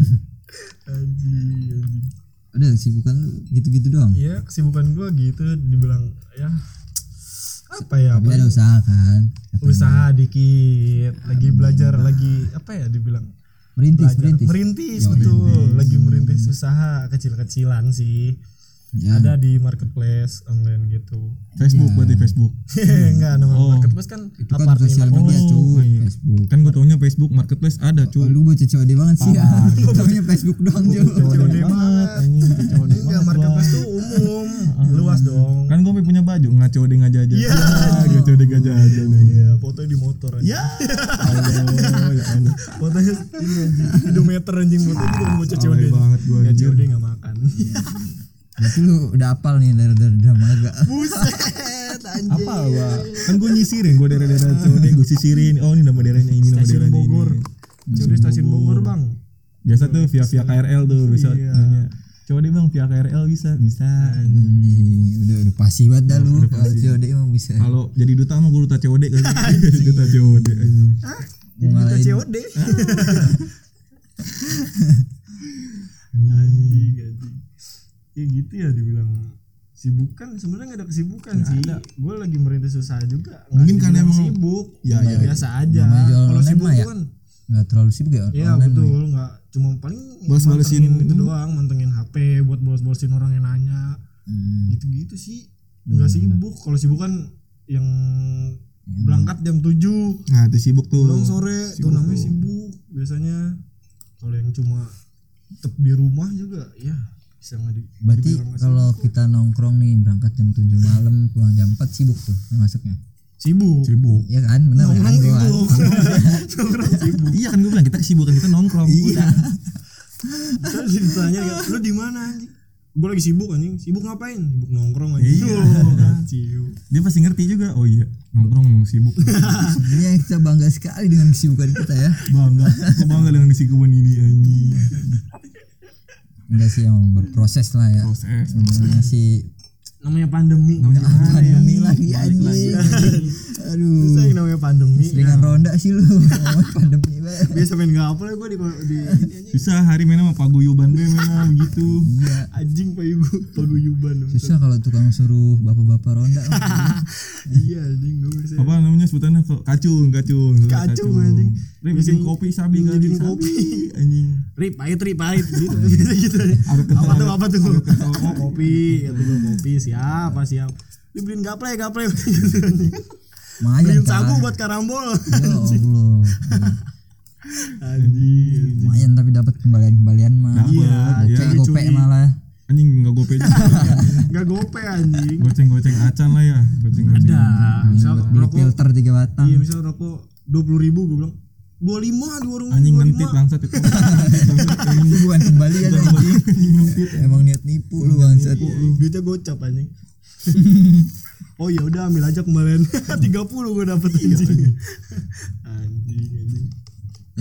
[SPEAKER 1] Anjing.
[SPEAKER 3] Udah kesibukan lu gitu-gitu doang.
[SPEAKER 1] Iya, kesibukan gua gitu dibilang ya apa ya?
[SPEAKER 3] Tapi ada usaha kan.
[SPEAKER 1] Usaha dikit, lagi belajar, lagi apa ya dibilang?
[SPEAKER 3] Merintis.
[SPEAKER 1] Merintis betul, lagi merintis usaha kecil-kecilan sih.
[SPEAKER 3] Ya.
[SPEAKER 1] Ada di marketplace online gitu.
[SPEAKER 2] Facebook berarti Facebook.
[SPEAKER 1] Enggak, nama marketplace kan
[SPEAKER 3] Itu kan
[SPEAKER 1] apa
[SPEAKER 3] sosial
[SPEAKER 1] artinya?
[SPEAKER 3] media
[SPEAKER 2] Oh,
[SPEAKER 3] cuy,
[SPEAKER 2] iya.
[SPEAKER 3] Facebook.
[SPEAKER 2] Kan gue taunya Facebook Marketplace ada
[SPEAKER 3] Oh,
[SPEAKER 2] cuy.
[SPEAKER 3] lu bocah COD banget sih ya. Taunya Facebook doang cuy.
[SPEAKER 1] COD banget.
[SPEAKER 2] anjing COD
[SPEAKER 1] Enggak, marketplace tuh umum, luas dong.
[SPEAKER 2] Kan gue punya baju ngaco deh ngajajan.
[SPEAKER 1] Iya.
[SPEAKER 2] Ngaco deh ngajajan.
[SPEAKER 1] Iya, fotonya di motor anjing.
[SPEAKER 2] Ya Allah ya Allah.
[SPEAKER 1] Fotonya ini anjing, kilometer anjing fotonya juga bocah COD.
[SPEAKER 2] Alay banget gua,
[SPEAKER 1] Enggak
[SPEAKER 2] anjir.
[SPEAKER 1] COD enggak makan.
[SPEAKER 3] Berarti lu udah hafal nih dari drama agak.
[SPEAKER 1] Buset anjing.
[SPEAKER 2] Apa gua? Kan gue nyisirin, gue daerah-daerah COD gue sisirin. Oh ini nama daerahnya ini, nama
[SPEAKER 1] Stasiun
[SPEAKER 2] daerahnya
[SPEAKER 1] Bogor.
[SPEAKER 2] ini.
[SPEAKER 1] COD stasiun Bogor, Bang.
[SPEAKER 2] Biasa tuh via KRL tuh bisa
[SPEAKER 1] Iya.
[SPEAKER 2] nanya. Coba deh bang via KRL bisa.
[SPEAKER 3] Udah pasti banget dah lu. Kalau COD emang bisa.
[SPEAKER 2] Kalau jadi duta mah gue duta COD kali. Duta COD anjing.
[SPEAKER 1] Jadi kita
[SPEAKER 3] Ngalahin.
[SPEAKER 1] COD. Anjing. Ya gitu ya dibilang sibukan sebenarnya nggak ada kesibukan sih. Gue lagi merintis usaha juga. Nggak
[SPEAKER 2] Mungkin karena
[SPEAKER 1] dibilang
[SPEAKER 2] emang-
[SPEAKER 1] sibuk.
[SPEAKER 2] Ya, ya.
[SPEAKER 1] Biasa aja.
[SPEAKER 3] Namanya jualan
[SPEAKER 1] Kalau
[SPEAKER 3] online
[SPEAKER 1] sibuk
[SPEAKER 3] mah ya.
[SPEAKER 1] kan
[SPEAKER 3] Nggak terlalu sibuk ya.
[SPEAKER 1] ya
[SPEAKER 3] online
[SPEAKER 1] betul
[SPEAKER 3] mah ya.
[SPEAKER 1] nggak cuma paling
[SPEAKER 2] Balas-balasin
[SPEAKER 1] mantengin itu
[SPEAKER 2] ini.
[SPEAKER 1] doang, mantengin HP buat balas-balasin orang yang nanya. Gitu-gitu sih. Nggak sibuk. Kalau sibuk kan yang berangkat jam 7
[SPEAKER 2] Nah itu sibuk tuh.
[SPEAKER 1] pulang sore tuh namanya sibuk biasanya. Kalau yang cuma tetap di rumah juga ya bisa nggak di.
[SPEAKER 3] Berarti
[SPEAKER 1] dibilang nggak
[SPEAKER 3] kalau kita nongkrong nih berangkat jam 7 malam pulang jam 4 sibuk tuh masuknya.
[SPEAKER 1] sibuk.
[SPEAKER 3] Iya kan? Benar kan?
[SPEAKER 1] Nongkrong
[SPEAKER 3] Gua kan?
[SPEAKER 1] sibuk. Nongkrong sibuk.
[SPEAKER 2] Iya kan gue bilang kita kesibukan kita nongkrong. Udah.
[SPEAKER 1] Terus ditanya ya, lu di mana anjing? Gue lagi sibuk anjing. Sibuk ngapain? Sibuk nongkrong anjing.
[SPEAKER 2] Iya.
[SPEAKER 1] Ciu.
[SPEAKER 2] Dia pasti ngerti juga. Oh iya nongkrong emang sibuk.
[SPEAKER 3] Sebenarnya kita bangga sekali dengan kesibukan kita ya.
[SPEAKER 2] Bangga. Aku bangga dengan kesibukan ini anjing.
[SPEAKER 3] Enggak sih emang berproses lah ya.
[SPEAKER 2] Proses.
[SPEAKER 3] Sebenarnya sih
[SPEAKER 1] Namanya pandemi.
[SPEAKER 2] Namanya
[SPEAKER 3] pandemi lagi
[SPEAKER 2] Balik
[SPEAKER 3] anjing. Aduh.
[SPEAKER 1] Susah yang namanya pandemi.
[SPEAKER 3] Dengan ronda sih lu. Ngomong pandemi banget.
[SPEAKER 1] Biasa main gapel ya gue di ini anjing.
[SPEAKER 2] Susah hari mana sama paguyuban be mana begitu.
[SPEAKER 3] Iya.
[SPEAKER 1] Anjing paguyuban.
[SPEAKER 3] Susah kalau tukang suruh bapak-bapak ronda.
[SPEAKER 1] Iya anjing gue bisa.
[SPEAKER 2] Apa namanya sebutannya kacung.
[SPEAKER 1] Kacung, anjing.
[SPEAKER 2] Bikin kopi sabi kali
[SPEAKER 1] Bikin
[SPEAKER 2] sabi
[SPEAKER 1] kopi.
[SPEAKER 2] anjing.
[SPEAKER 1] Rip pahit gitu gitu. Apa tuh oh, kopi ya tuh kopi siap dibeliin gaple gitu anjing.
[SPEAKER 3] Lumayan
[SPEAKER 1] Beliin sagu
[SPEAKER 3] kan.
[SPEAKER 1] buat karambol.
[SPEAKER 3] Ya Allah.
[SPEAKER 1] Anjing.
[SPEAKER 3] Lumayan tapi dapat kembalian mah.
[SPEAKER 2] Dapet,
[SPEAKER 1] Iya,
[SPEAKER 3] Gopek
[SPEAKER 1] iya.
[SPEAKER 3] gopek
[SPEAKER 1] Curi.
[SPEAKER 3] malah.
[SPEAKER 2] Anjing enggak gope juga.
[SPEAKER 1] Enggak gope anjing.
[SPEAKER 2] Goceng-goceng acan lah ya. Goceng-goceng.
[SPEAKER 1] Ada. Misal
[SPEAKER 3] Buat beli
[SPEAKER 1] rokok.
[SPEAKER 3] filter 3 batang.
[SPEAKER 1] Iya, misal rokok 20.000 gue bilang 25 di warung
[SPEAKER 2] Anjing
[SPEAKER 1] 25.
[SPEAKER 2] ngentit bangsat itu. Bangsat anjing.
[SPEAKER 3] Itu bukan kembalian anjing.
[SPEAKER 2] Anjing ngentit.
[SPEAKER 3] Emang niat nipu lu bangsat.
[SPEAKER 1] Duitnya gocap anjing. Oh ya udah ambil aja kembalian 30 gue dapet anjing. Anjing.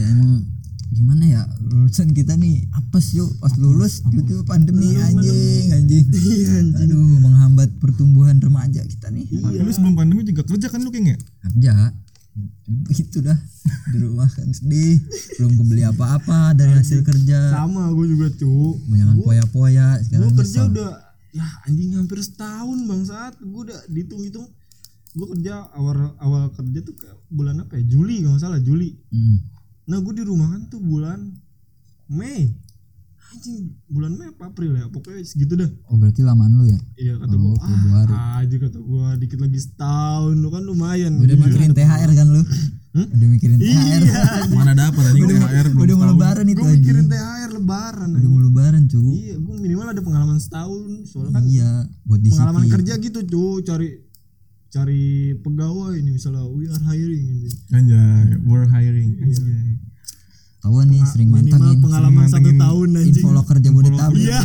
[SPEAKER 3] Ya emang gimana ya, lulusan kita nih apes yuk pas lulus itu pandemi anjing. Aduh, menghambat pertumbuhan remaja kita nih.
[SPEAKER 2] Tapi lu sebelum pandemi juga kerja kan lu kayaknya?
[SPEAKER 3] Kerja itu dah di rumah kan sedih, belum kebeli apa-apa dari hasil kerja.
[SPEAKER 1] Sama gue juga cu.
[SPEAKER 3] Jangan poya-poya sekarang.
[SPEAKER 1] Gue kerja udah ya anjing hampir setahun bangsat. Gue udah dihitung-hitung. Gue kerja awal kerja tuh kayak bulan apa ya? Juli kalau nggak salah, Juli. Nah gue di rumah kan tuh bulan Mei. Anjing bulan Mei apa April ya? Pokoknya segitu dah.
[SPEAKER 3] Oh berarti lamaan lu ya?
[SPEAKER 1] Iya kata gue. Aja kata gue dikit lagi setahun lu kan lumayan.
[SPEAKER 3] Udah mikirin THR kan lu? Udah mikirin THR.
[SPEAKER 2] Mana dapat anjing THR belum.
[SPEAKER 3] Udah mau lebaran itu.
[SPEAKER 1] Gue mikirin THR lebaran.
[SPEAKER 3] Udah mau lebaran cu.
[SPEAKER 1] Iya gue minimal ada pengalaman setahun. Soalnya kan
[SPEAKER 3] buat disiplin.
[SPEAKER 1] pengalaman kerja gitu cu, cari pegawai ini misalnya we are hiring ini.
[SPEAKER 2] Anjay, we're hiring. Anjay.
[SPEAKER 3] Kawan nih sering mantengin
[SPEAKER 1] pengalaman 1 tahun anjing.
[SPEAKER 3] Infoloker Jabodetabek. Iya.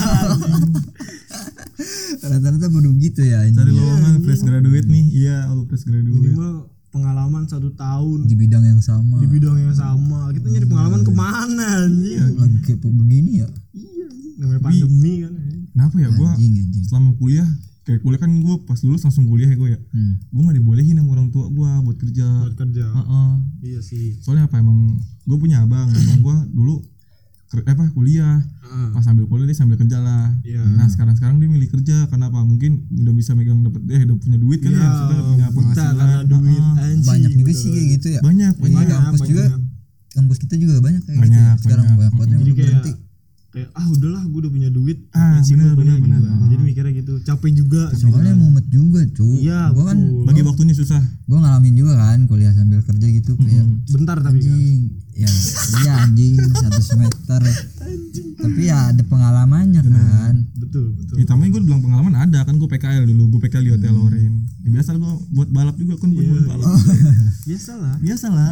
[SPEAKER 3] Rata-rata baru begitu ya.
[SPEAKER 2] Cari lowongan fresh graduate nih. Iya, lu fresh graduate.
[SPEAKER 1] Minimal pengalaman 1 tahun
[SPEAKER 3] di bidang yang sama.
[SPEAKER 1] Kita nyari pengalaman kemana anjing?
[SPEAKER 3] Lagi kayak begini ya.
[SPEAKER 1] Iya anjing. Namanya pandemi kan.
[SPEAKER 2] Kenapa ya gua selama kuliah kayak kuliah kan gue pas lulus langsung kuliah ya gue ya. Gue nggak dibolehin sama orang tua gue buat kerja. Iya sih. Soalnya apa emang gue punya abang gue dulu kuliah. Pas sambil kuliah dia sambil kerja lah. Nah sekarang dia milih kerja karena apa? Mungkin udah bisa megang udah punya duit kan ya. Sudah punya penghasilan.
[SPEAKER 1] Duit.
[SPEAKER 3] Banyak juga sih kayak gitu ya.
[SPEAKER 2] Banyak.
[SPEAKER 3] Kampus kita juga banyak kayak gitu. Sekarang banyak banget yang berhenti.
[SPEAKER 1] Kayak udahlah gue udah punya duit
[SPEAKER 2] bener.
[SPEAKER 1] Jadi mikirnya gitu, capek juga
[SPEAKER 3] soalnya mumet juga cuy.
[SPEAKER 1] Iya,
[SPEAKER 2] gue kan bagi waktunya susah.
[SPEAKER 3] Gue ngalamin juga kan kuliah sambil kerja gitu kayak
[SPEAKER 1] bentar tapi
[SPEAKER 3] anjing kan? Iya anjing 1 semester tapi ya ada pengalamannya kan.
[SPEAKER 1] Betul
[SPEAKER 2] Tamanya gue bilang pengalaman ada kan, gue PKL dulu, gue PKL di Hotel Lorin ya, biasa gue buat balap juga kan. Buat balap biasalah.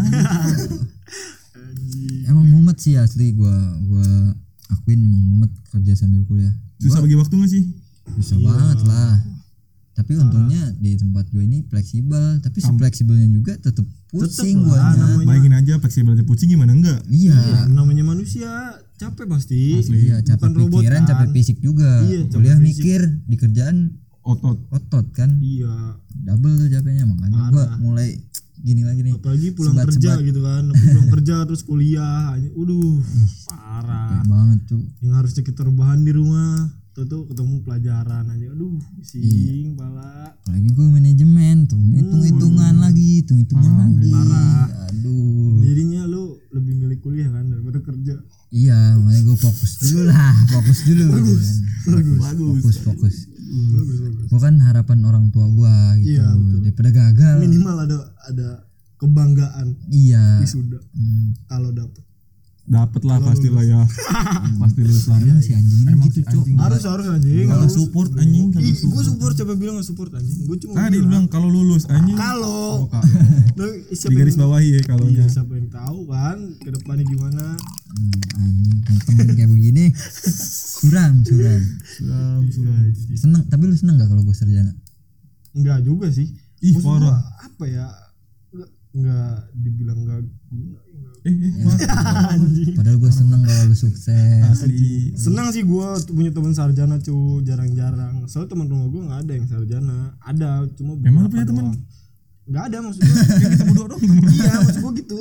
[SPEAKER 3] Emang mumet sih asli, gue akuin emang mumet kerja sambil kuliah.
[SPEAKER 2] Susah bagi waktu gak sih?
[SPEAKER 3] Susah banget lah. Tapi untungnya di tempat gue ini fleksibel, tapi fleksibelnya juga tetep pusing guanya.
[SPEAKER 2] Bayangin aja fleksibel aja pusing gimana enggak?
[SPEAKER 3] Iya.
[SPEAKER 1] Namanya manusia capek pasti.
[SPEAKER 3] Iya, capek pikiran, kan? Capek fisik juga. Kuliah mikir, di kerjaan otot kan.
[SPEAKER 1] Iya.
[SPEAKER 3] Double tuh capeknya, makanya gue mulai gini lagi nih.
[SPEAKER 1] Apalagi pulang kerja gitu kan. Pulang kerja terus kuliah. Parah.
[SPEAKER 3] Kayak banget tuh.
[SPEAKER 1] Yang harusnya kita rebahan di rumah, tuh ketemu pelajaran aja. Pusing pala.
[SPEAKER 3] Apalagi gue manajemen tuh, hitung-hitungan lagi.
[SPEAKER 1] Parah.
[SPEAKER 3] Aduh.
[SPEAKER 1] Jadinya lu lebih milih kuliah kan daripada kerja.
[SPEAKER 3] Iya, makanya gue fokus dulu gitu kan. Fokus. Gue kan harapan orang tua gue gitu.
[SPEAKER 1] Iya,
[SPEAKER 3] daripada gagal.
[SPEAKER 1] Minimal ada kebanggaan.
[SPEAKER 3] Iya.
[SPEAKER 1] Wisuda. Kalau
[SPEAKER 2] dapet lah pastilah ya. Pasti lulus lah.
[SPEAKER 3] Si anjing ini gitu cok.
[SPEAKER 1] Harus anjing.
[SPEAKER 2] Kalau support anjing.
[SPEAKER 1] Gue support, coba bilang nggak support anjing. Gue cuma
[SPEAKER 2] dia bilang kalau lulus anjing.
[SPEAKER 1] Kalau
[SPEAKER 2] di garis bawahi ya kalau
[SPEAKER 1] iya, siapa yang tahu kan ke depannya gimana.
[SPEAKER 3] Anjing temen kayak begini suram. Seneng, tapi lu seneng gak kalau gue sarjana?
[SPEAKER 1] Enggak juga sih.
[SPEAKER 2] Parah.
[SPEAKER 1] Apa ya? Enggak dibilang enggak guna.
[SPEAKER 3] Padahal gue seneng kalau lu sukses.
[SPEAKER 2] Asli.
[SPEAKER 1] Senang sih gue punya teman sarjana jarang-jarang. Soalnya teman rumah gue nggak ada yang sarjana. Ada cuma
[SPEAKER 2] emang lu punya teman?
[SPEAKER 1] Nggak ada maksud gue.
[SPEAKER 2] Kita berdua dong.
[SPEAKER 1] Iya maksud gue gitu.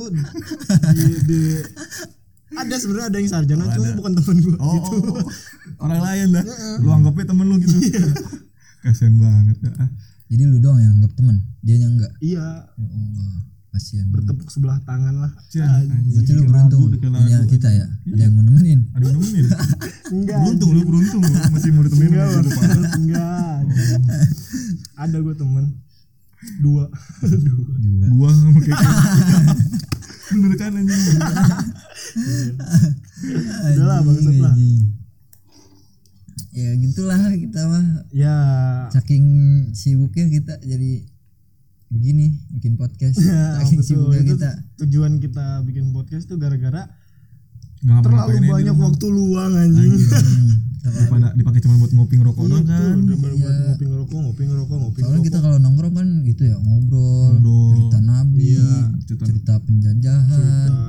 [SPEAKER 1] Ada sebenarnya ada yang sarjana cuma bukan teman gue. Gitu.
[SPEAKER 2] Orang lain lah. Lu anggapnya temen lu gitu. Kasian banget dah.
[SPEAKER 3] Jadi lu doang yang anggap temen, dianya enggak?
[SPEAKER 1] Iya.
[SPEAKER 3] Ya Allah, kasihan.
[SPEAKER 1] Bertepuk sebelah tangan lah.
[SPEAKER 3] Berarti lu beruntung punya kita ya. Ada yang mau nemenin.
[SPEAKER 1] Enggak.
[SPEAKER 2] Beruntung lu masih mau ditemenin.
[SPEAKER 1] Enggak. Ada gue temen 2.
[SPEAKER 2] Gua sama kayak bener kan anjing.
[SPEAKER 1] Udah lah bangsat lah.
[SPEAKER 3] Ya gitulah kita mah.
[SPEAKER 1] Ya.
[SPEAKER 3] Saking sibuknya kita jadi begini bikin podcast. Saking sibuknya kita.
[SPEAKER 1] Tujuan kita bikin podcast tuh gara-gara terlalu banyak waktu luang anjing.
[SPEAKER 2] Daripada dipakai cuma buat ngopi ngerokok doang kan.
[SPEAKER 1] Buat ngopi ngerokok.
[SPEAKER 3] Soalnya kita kalau nongkrong kan gitu ya, ngobrol. Cerita nabi, cerita penjajahan,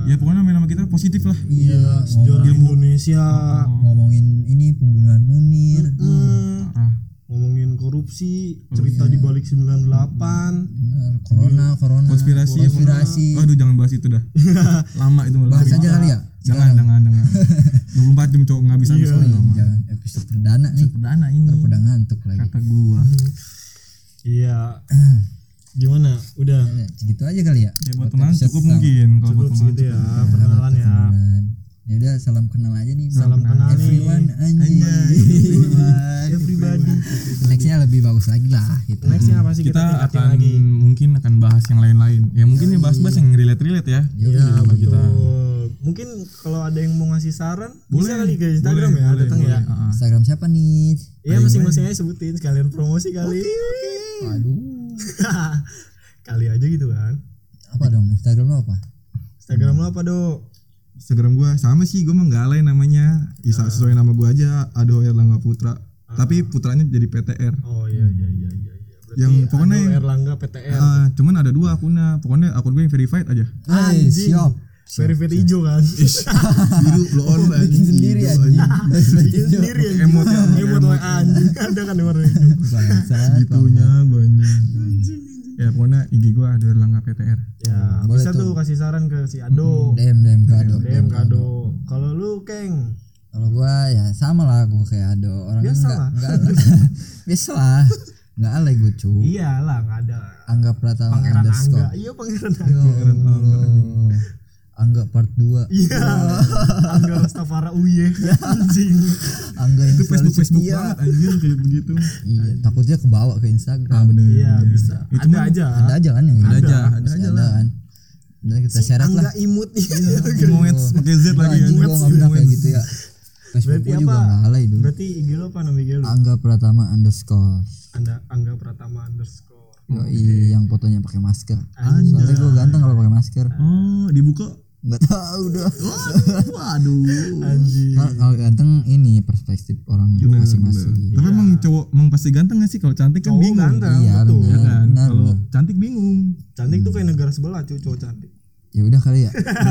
[SPEAKER 2] Ya pokoknya nama kita positif lah.
[SPEAKER 1] Iya, sejarah Indonesia.
[SPEAKER 3] Ngomongin ini pembunuhan Munir.
[SPEAKER 2] Parah.
[SPEAKER 1] Ngomongin korupsi, cerita di balik 98.
[SPEAKER 3] Corona.
[SPEAKER 2] Konspirasi. Aduh jangan bahas itu dah. Lama itu malah.
[SPEAKER 3] Bahas aja kali ya.
[SPEAKER 2] Jangan. 24 jam cowok nggak bisa
[SPEAKER 3] Jangan episode perdana nih.
[SPEAKER 2] Perdana ini.
[SPEAKER 3] Terpedang ngantuk lagi.
[SPEAKER 2] Kata gua.
[SPEAKER 1] Iya. Gimana? Udah.
[SPEAKER 3] Segitu aja kali ya.
[SPEAKER 2] Ya buat teman cukup mungkin kalau buat teman
[SPEAKER 1] Segitu ya, perkenalan ya.
[SPEAKER 3] Ya udah salam kenal aja nih.
[SPEAKER 1] Salam kenal nih.
[SPEAKER 3] Everyone anjing.
[SPEAKER 1] Everybody.
[SPEAKER 3] Nextnya lebih bagus lagi lah gitu.
[SPEAKER 1] Nextnya apa sih
[SPEAKER 2] kita
[SPEAKER 1] tingkatin
[SPEAKER 2] akan
[SPEAKER 1] lagi?
[SPEAKER 2] mungkin akan bahas yang lain-lain. Ya mungkin ya bahas-bahas yang relate ya.
[SPEAKER 1] Iya, betul.
[SPEAKER 2] Kita.
[SPEAKER 1] Mungkin kalau ada yang mau ngasih saran,
[SPEAKER 2] Boleh,
[SPEAKER 1] bisa kali ke Instagram
[SPEAKER 2] boleh,
[SPEAKER 1] ya,
[SPEAKER 2] boleh,
[SPEAKER 1] datang ya.
[SPEAKER 2] boleh.
[SPEAKER 3] Instagram siapa nih?
[SPEAKER 1] Iya, masing-masing aja sebutin sekalian promosi kali.
[SPEAKER 3] Aduh.
[SPEAKER 1] Kali aja gitu kan.
[SPEAKER 3] Apa dong? Instagram lo apa?
[SPEAKER 1] Instagram lo apa, Dok?
[SPEAKER 2] Instagram gua sama sih, gua mah nggak alay namanya. Isa sesuai nama gua aja, Ado Erlangga Putra. Tapi putranya jadi PTR.
[SPEAKER 1] Oh iya. Berarti
[SPEAKER 2] Yang pokoknya
[SPEAKER 1] Ado Erlangga PTR.
[SPEAKER 2] Cuman ada 2 akunnya. Pokoknya akun gue yang verified aja.
[SPEAKER 1] Anjing.
[SPEAKER 3] Siap.
[SPEAKER 1] Verified hijau kan.
[SPEAKER 2] Biru lo on
[SPEAKER 3] Bikin sendiri anjing.
[SPEAKER 1] Bikin sendiri ya.
[SPEAKER 2] Emot ya.
[SPEAKER 1] Emot WA anjing. Ada kan yang warna hijau.
[SPEAKER 3] Bangsat.
[SPEAKER 2] Gitunya banyak. Ya pokoknya IG gua Ado Erlangga PTR.
[SPEAKER 1] Ya,
[SPEAKER 3] Boleh
[SPEAKER 1] bisa tuh kasih saran ke si Ado.
[SPEAKER 3] DM kado.
[SPEAKER 1] DM kado. Kalau lu, Keng,
[SPEAKER 3] Kalau gua ya sama lah, gua kayak Ado. Orangnya
[SPEAKER 1] Biasa lah.
[SPEAKER 3] enggak biasa lah. Enggak alay gua cu.
[SPEAKER 1] iyalah nggak ada.
[SPEAKER 3] Angga Pratama
[SPEAKER 1] Pangeran Angga.
[SPEAKER 3] _
[SPEAKER 1] Iya, Pangeran Angga.
[SPEAKER 3] Angga part 2.
[SPEAKER 1] Iya. Angga Rastafara Uye. Anjing.
[SPEAKER 3] Angga yang
[SPEAKER 2] Itu Facebook
[SPEAKER 1] setia.
[SPEAKER 2] banget anjir kayak begitu.
[SPEAKER 3] Iya, takutnya kebawa ke Instagram.
[SPEAKER 2] Bener.
[SPEAKER 1] Iya, bisa.
[SPEAKER 2] Itu
[SPEAKER 1] Ada
[SPEAKER 2] mah
[SPEAKER 1] aja.
[SPEAKER 3] Ada aja kan yang
[SPEAKER 2] Ada
[SPEAKER 3] gitu?
[SPEAKER 2] aja, ada
[SPEAKER 3] Pasti
[SPEAKER 2] aja
[SPEAKER 3] ada
[SPEAKER 2] lah.
[SPEAKER 3] kan. Dan kita syarat
[SPEAKER 1] Angga
[SPEAKER 3] lah.
[SPEAKER 1] imut.
[SPEAKER 2] Emoet pakai Z lagi
[SPEAKER 3] Anjing gua enggak pernah kayak gitu ya. Facebook
[SPEAKER 1] Berarti
[SPEAKER 3] gua juga
[SPEAKER 1] apa?
[SPEAKER 3] enggak alay dulu.
[SPEAKER 1] Berarti IG lo apa nama IG lo?
[SPEAKER 3] Angga Pratama _
[SPEAKER 1] Angga Pratama _
[SPEAKER 3] Yoi, yang fotonya pakai masker.
[SPEAKER 1] Anjay.
[SPEAKER 3] Soalnya gua ganteng kalau pakai masker.
[SPEAKER 2] Oh, dibuka.
[SPEAKER 3] Enggak tahu dah.
[SPEAKER 2] Waduh.
[SPEAKER 1] Anjing.
[SPEAKER 3] Kalau ganteng ini perspektif orang masing-masing.
[SPEAKER 2] Tapi emang cowok emang pasti ganteng gak sih? Kalau cantik kan
[SPEAKER 1] Cowok
[SPEAKER 2] bingung.
[SPEAKER 1] ganteng,
[SPEAKER 3] Iya,
[SPEAKER 1] betul.
[SPEAKER 2] Ya
[SPEAKER 3] benar.
[SPEAKER 2] kan?
[SPEAKER 3] Benar,
[SPEAKER 2] Kalau
[SPEAKER 3] benar.
[SPEAKER 2] cantik bingung.
[SPEAKER 1] Cantik tuh kayak negara sebelah, cuy, cowok cantik.
[SPEAKER 3] Ya udah kali ya.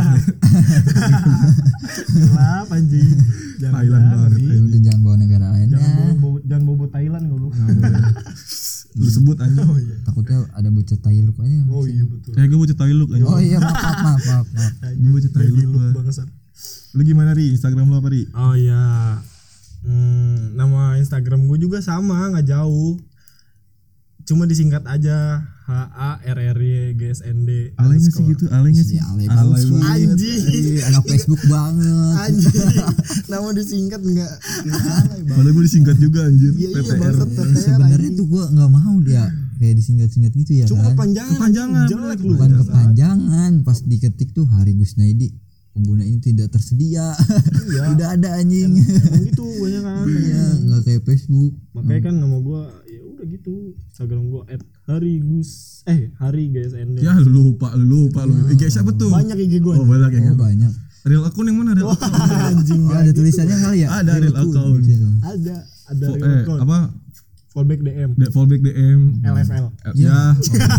[SPEAKER 1] Gelap anjing. Jangan
[SPEAKER 2] Thailand banget,
[SPEAKER 1] Ri.
[SPEAKER 3] Udah jangan bawa negara lainnya.
[SPEAKER 1] Jangan bobo Thailand goblok.
[SPEAKER 2] Lu sebut aja.
[SPEAKER 1] Oh iya.
[SPEAKER 3] Takutnya ada bocah Thailand aja.
[SPEAKER 1] Oh iya betul.
[SPEAKER 2] Gue bocah Thailand aja.
[SPEAKER 3] Oh iya, maaf.
[SPEAKER 2] Gue bocah Thailand
[SPEAKER 1] Baby
[SPEAKER 2] gua.
[SPEAKER 1] look bangsat.
[SPEAKER 2] Lu gimana Ri? Instagram lu apa Ri?
[SPEAKER 1] Oh iya. Nama Instagram gue juga sama, nggak jauh. Cuma disingkat aja HARRYGSND.
[SPEAKER 2] Alay gak sih gitu? Alay gak sih?
[SPEAKER 3] Si alay
[SPEAKER 2] Alay
[SPEAKER 3] banget.
[SPEAKER 2] banget.
[SPEAKER 1] Anjing.
[SPEAKER 3] Iya, anak Facebook banget.
[SPEAKER 1] Anjing. Nama disingkat enggak alay banget.
[SPEAKER 2] Padahal gue disingkat juga anjir.
[SPEAKER 1] Iya
[SPEAKER 2] PTR.
[SPEAKER 1] bangsat PTR.
[SPEAKER 3] Sebenarnya
[SPEAKER 1] anjing.
[SPEAKER 3] tuh gua enggak mau dia kayak disingkat-singkat gitu ya
[SPEAKER 1] Cuma
[SPEAKER 3] kan.
[SPEAKER 1] kepanjangan. Jelek lu.
[SPEAKER 3] Bukan kepanjangan, pas diketik tuh Hari Gusnaidi pengguna ini tidak tersedia.
[SPEAKER 1] Iya.
[SPEAKER 3] Udah ada anjing.
[SPEAKER 1] Emang gitu banyak kan.
[SPEAKER 3] Iya, enggak kayak Facebook.
[SPEAKER 1] Makanya kan nama gue ya udah gitu. Instagram gue @HariGSND.
[SPEAKER 2] Ya lu lupa lu. IG siapa tuh?
[SPEAKER 1] Banyak IG gue.
[SPEAKER 2] Oh banyak ya.
[SPEAKER 3] Oh, banyak.
[SPEAKER 2] Real akun yang mana? Real account.
[SPEAKER 1] Anjing.
[SPEAKER 3] Oh, ada tulisannya kali ya?
[SPEAKER 2] Ada real account.
[SPEAKER 1] Ada real account.
[SPEAKER 2] Apa?
[SPEAKER 1] Fallback DM.
[SPEAKER 2] Fallback DM.
[SPEAKER 1] LFL.
[SPEAKER 2] Ya.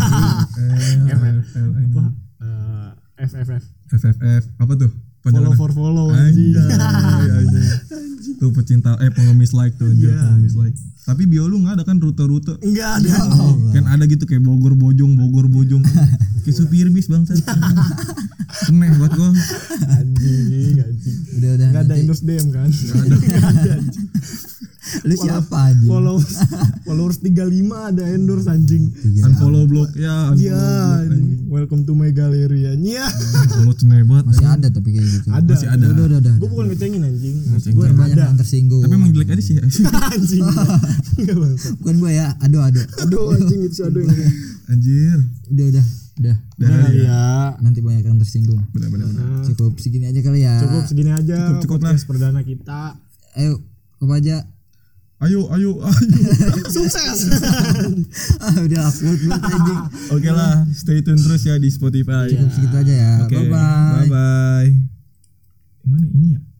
[SPEAKER 1] FFF.
[SPEAKER 2] FFF. Apa tuh?
[SPEAKER 1] Follow for follow anjing.
[SPEAKER 2] Anjing. Tuh pecinta pengemis like tuh anjir, pengemis like. Tapi bio lu enggak ada kan rute-rute?
[SPEAKER 1] Enggak ada.
[SPEAKER 2] Kan ada gitu kayak Bogor Bojong. Kayak supir bis bangsat. Aneh buat gua.
[SPEAKER 1] Anjing.
[SPEAKER 3] Udah
[SPEAKER 1] Enggak ada
[SPEAKER 3] nanti.
[SPEAKER 1] endorse DM kan?
[SPEAKER 3] Lu siapa anjing?
[SPEAKER 1] Followers 35 ada endorse anjing.
[SPEAKER 2] Unfollow blog ya,
[SPEAKER 1] Iya.
[SPEAKER 2] unfollow blog.
[SPEAKER 1] Welcome to my gallery ya.
[SPEAKER 2] Follow cenebat.
[SPEAKER 3] Masih ada tapi kayak gitu.
[SPEAKER 1] Ada.
[SPEAKER 2] Masih ada.
[SPEAKER 3] Udah.
[SPEAKER 1] Gue bukan ngecengin anjing.
[SPEAKER 2] Ngecengin.
[SPEAKER 1] Gue
[SPEAKER 3] Banyak
[SPEAKER 1] ada.
[SPEAKER 3] yang tersinggung.
[SPEAKER 2] Tapi emang jelek aja sih.
[SPEAKER 1] Anjing. Enggak bangsat.
[SPEAKER 3] Bukan gua ya, aduh.
[SPEAKER 1] Aduh anjing itu aduh ini.
[SPEAKER 2] Anjir.
[SPEAKER 3] Udah.
[SPEAKER 1] Nah, ya.
[SPEAKER 3] Nanti banyak yang tersinggung.
[SPEAKER 2] Benar-benar.
[SPEAKER 3] Cukup segini aja kali ya.
[SPEAKER 1] Cukup segini aja
[SPEAKER 2] Cukup
[SPEAKER 1] podcast perdana kita.
[SPEAKER 3] Ayo, apa aja?
[SPEAKER 2] Ayo.
[SPEAKER 1] Sukses.
[SPEAKER 3] Udah upload banget anjing.
[SPEAKER 2] Oke lah, stay tune terus ya di Spotify.
[SPEAKER 3] Cukup segitu aja ya.
[SPEAKER 2] Oke,
[SPEAKER 3] Bye bye.
[SPEAKER 2] bye. Mana ini ya?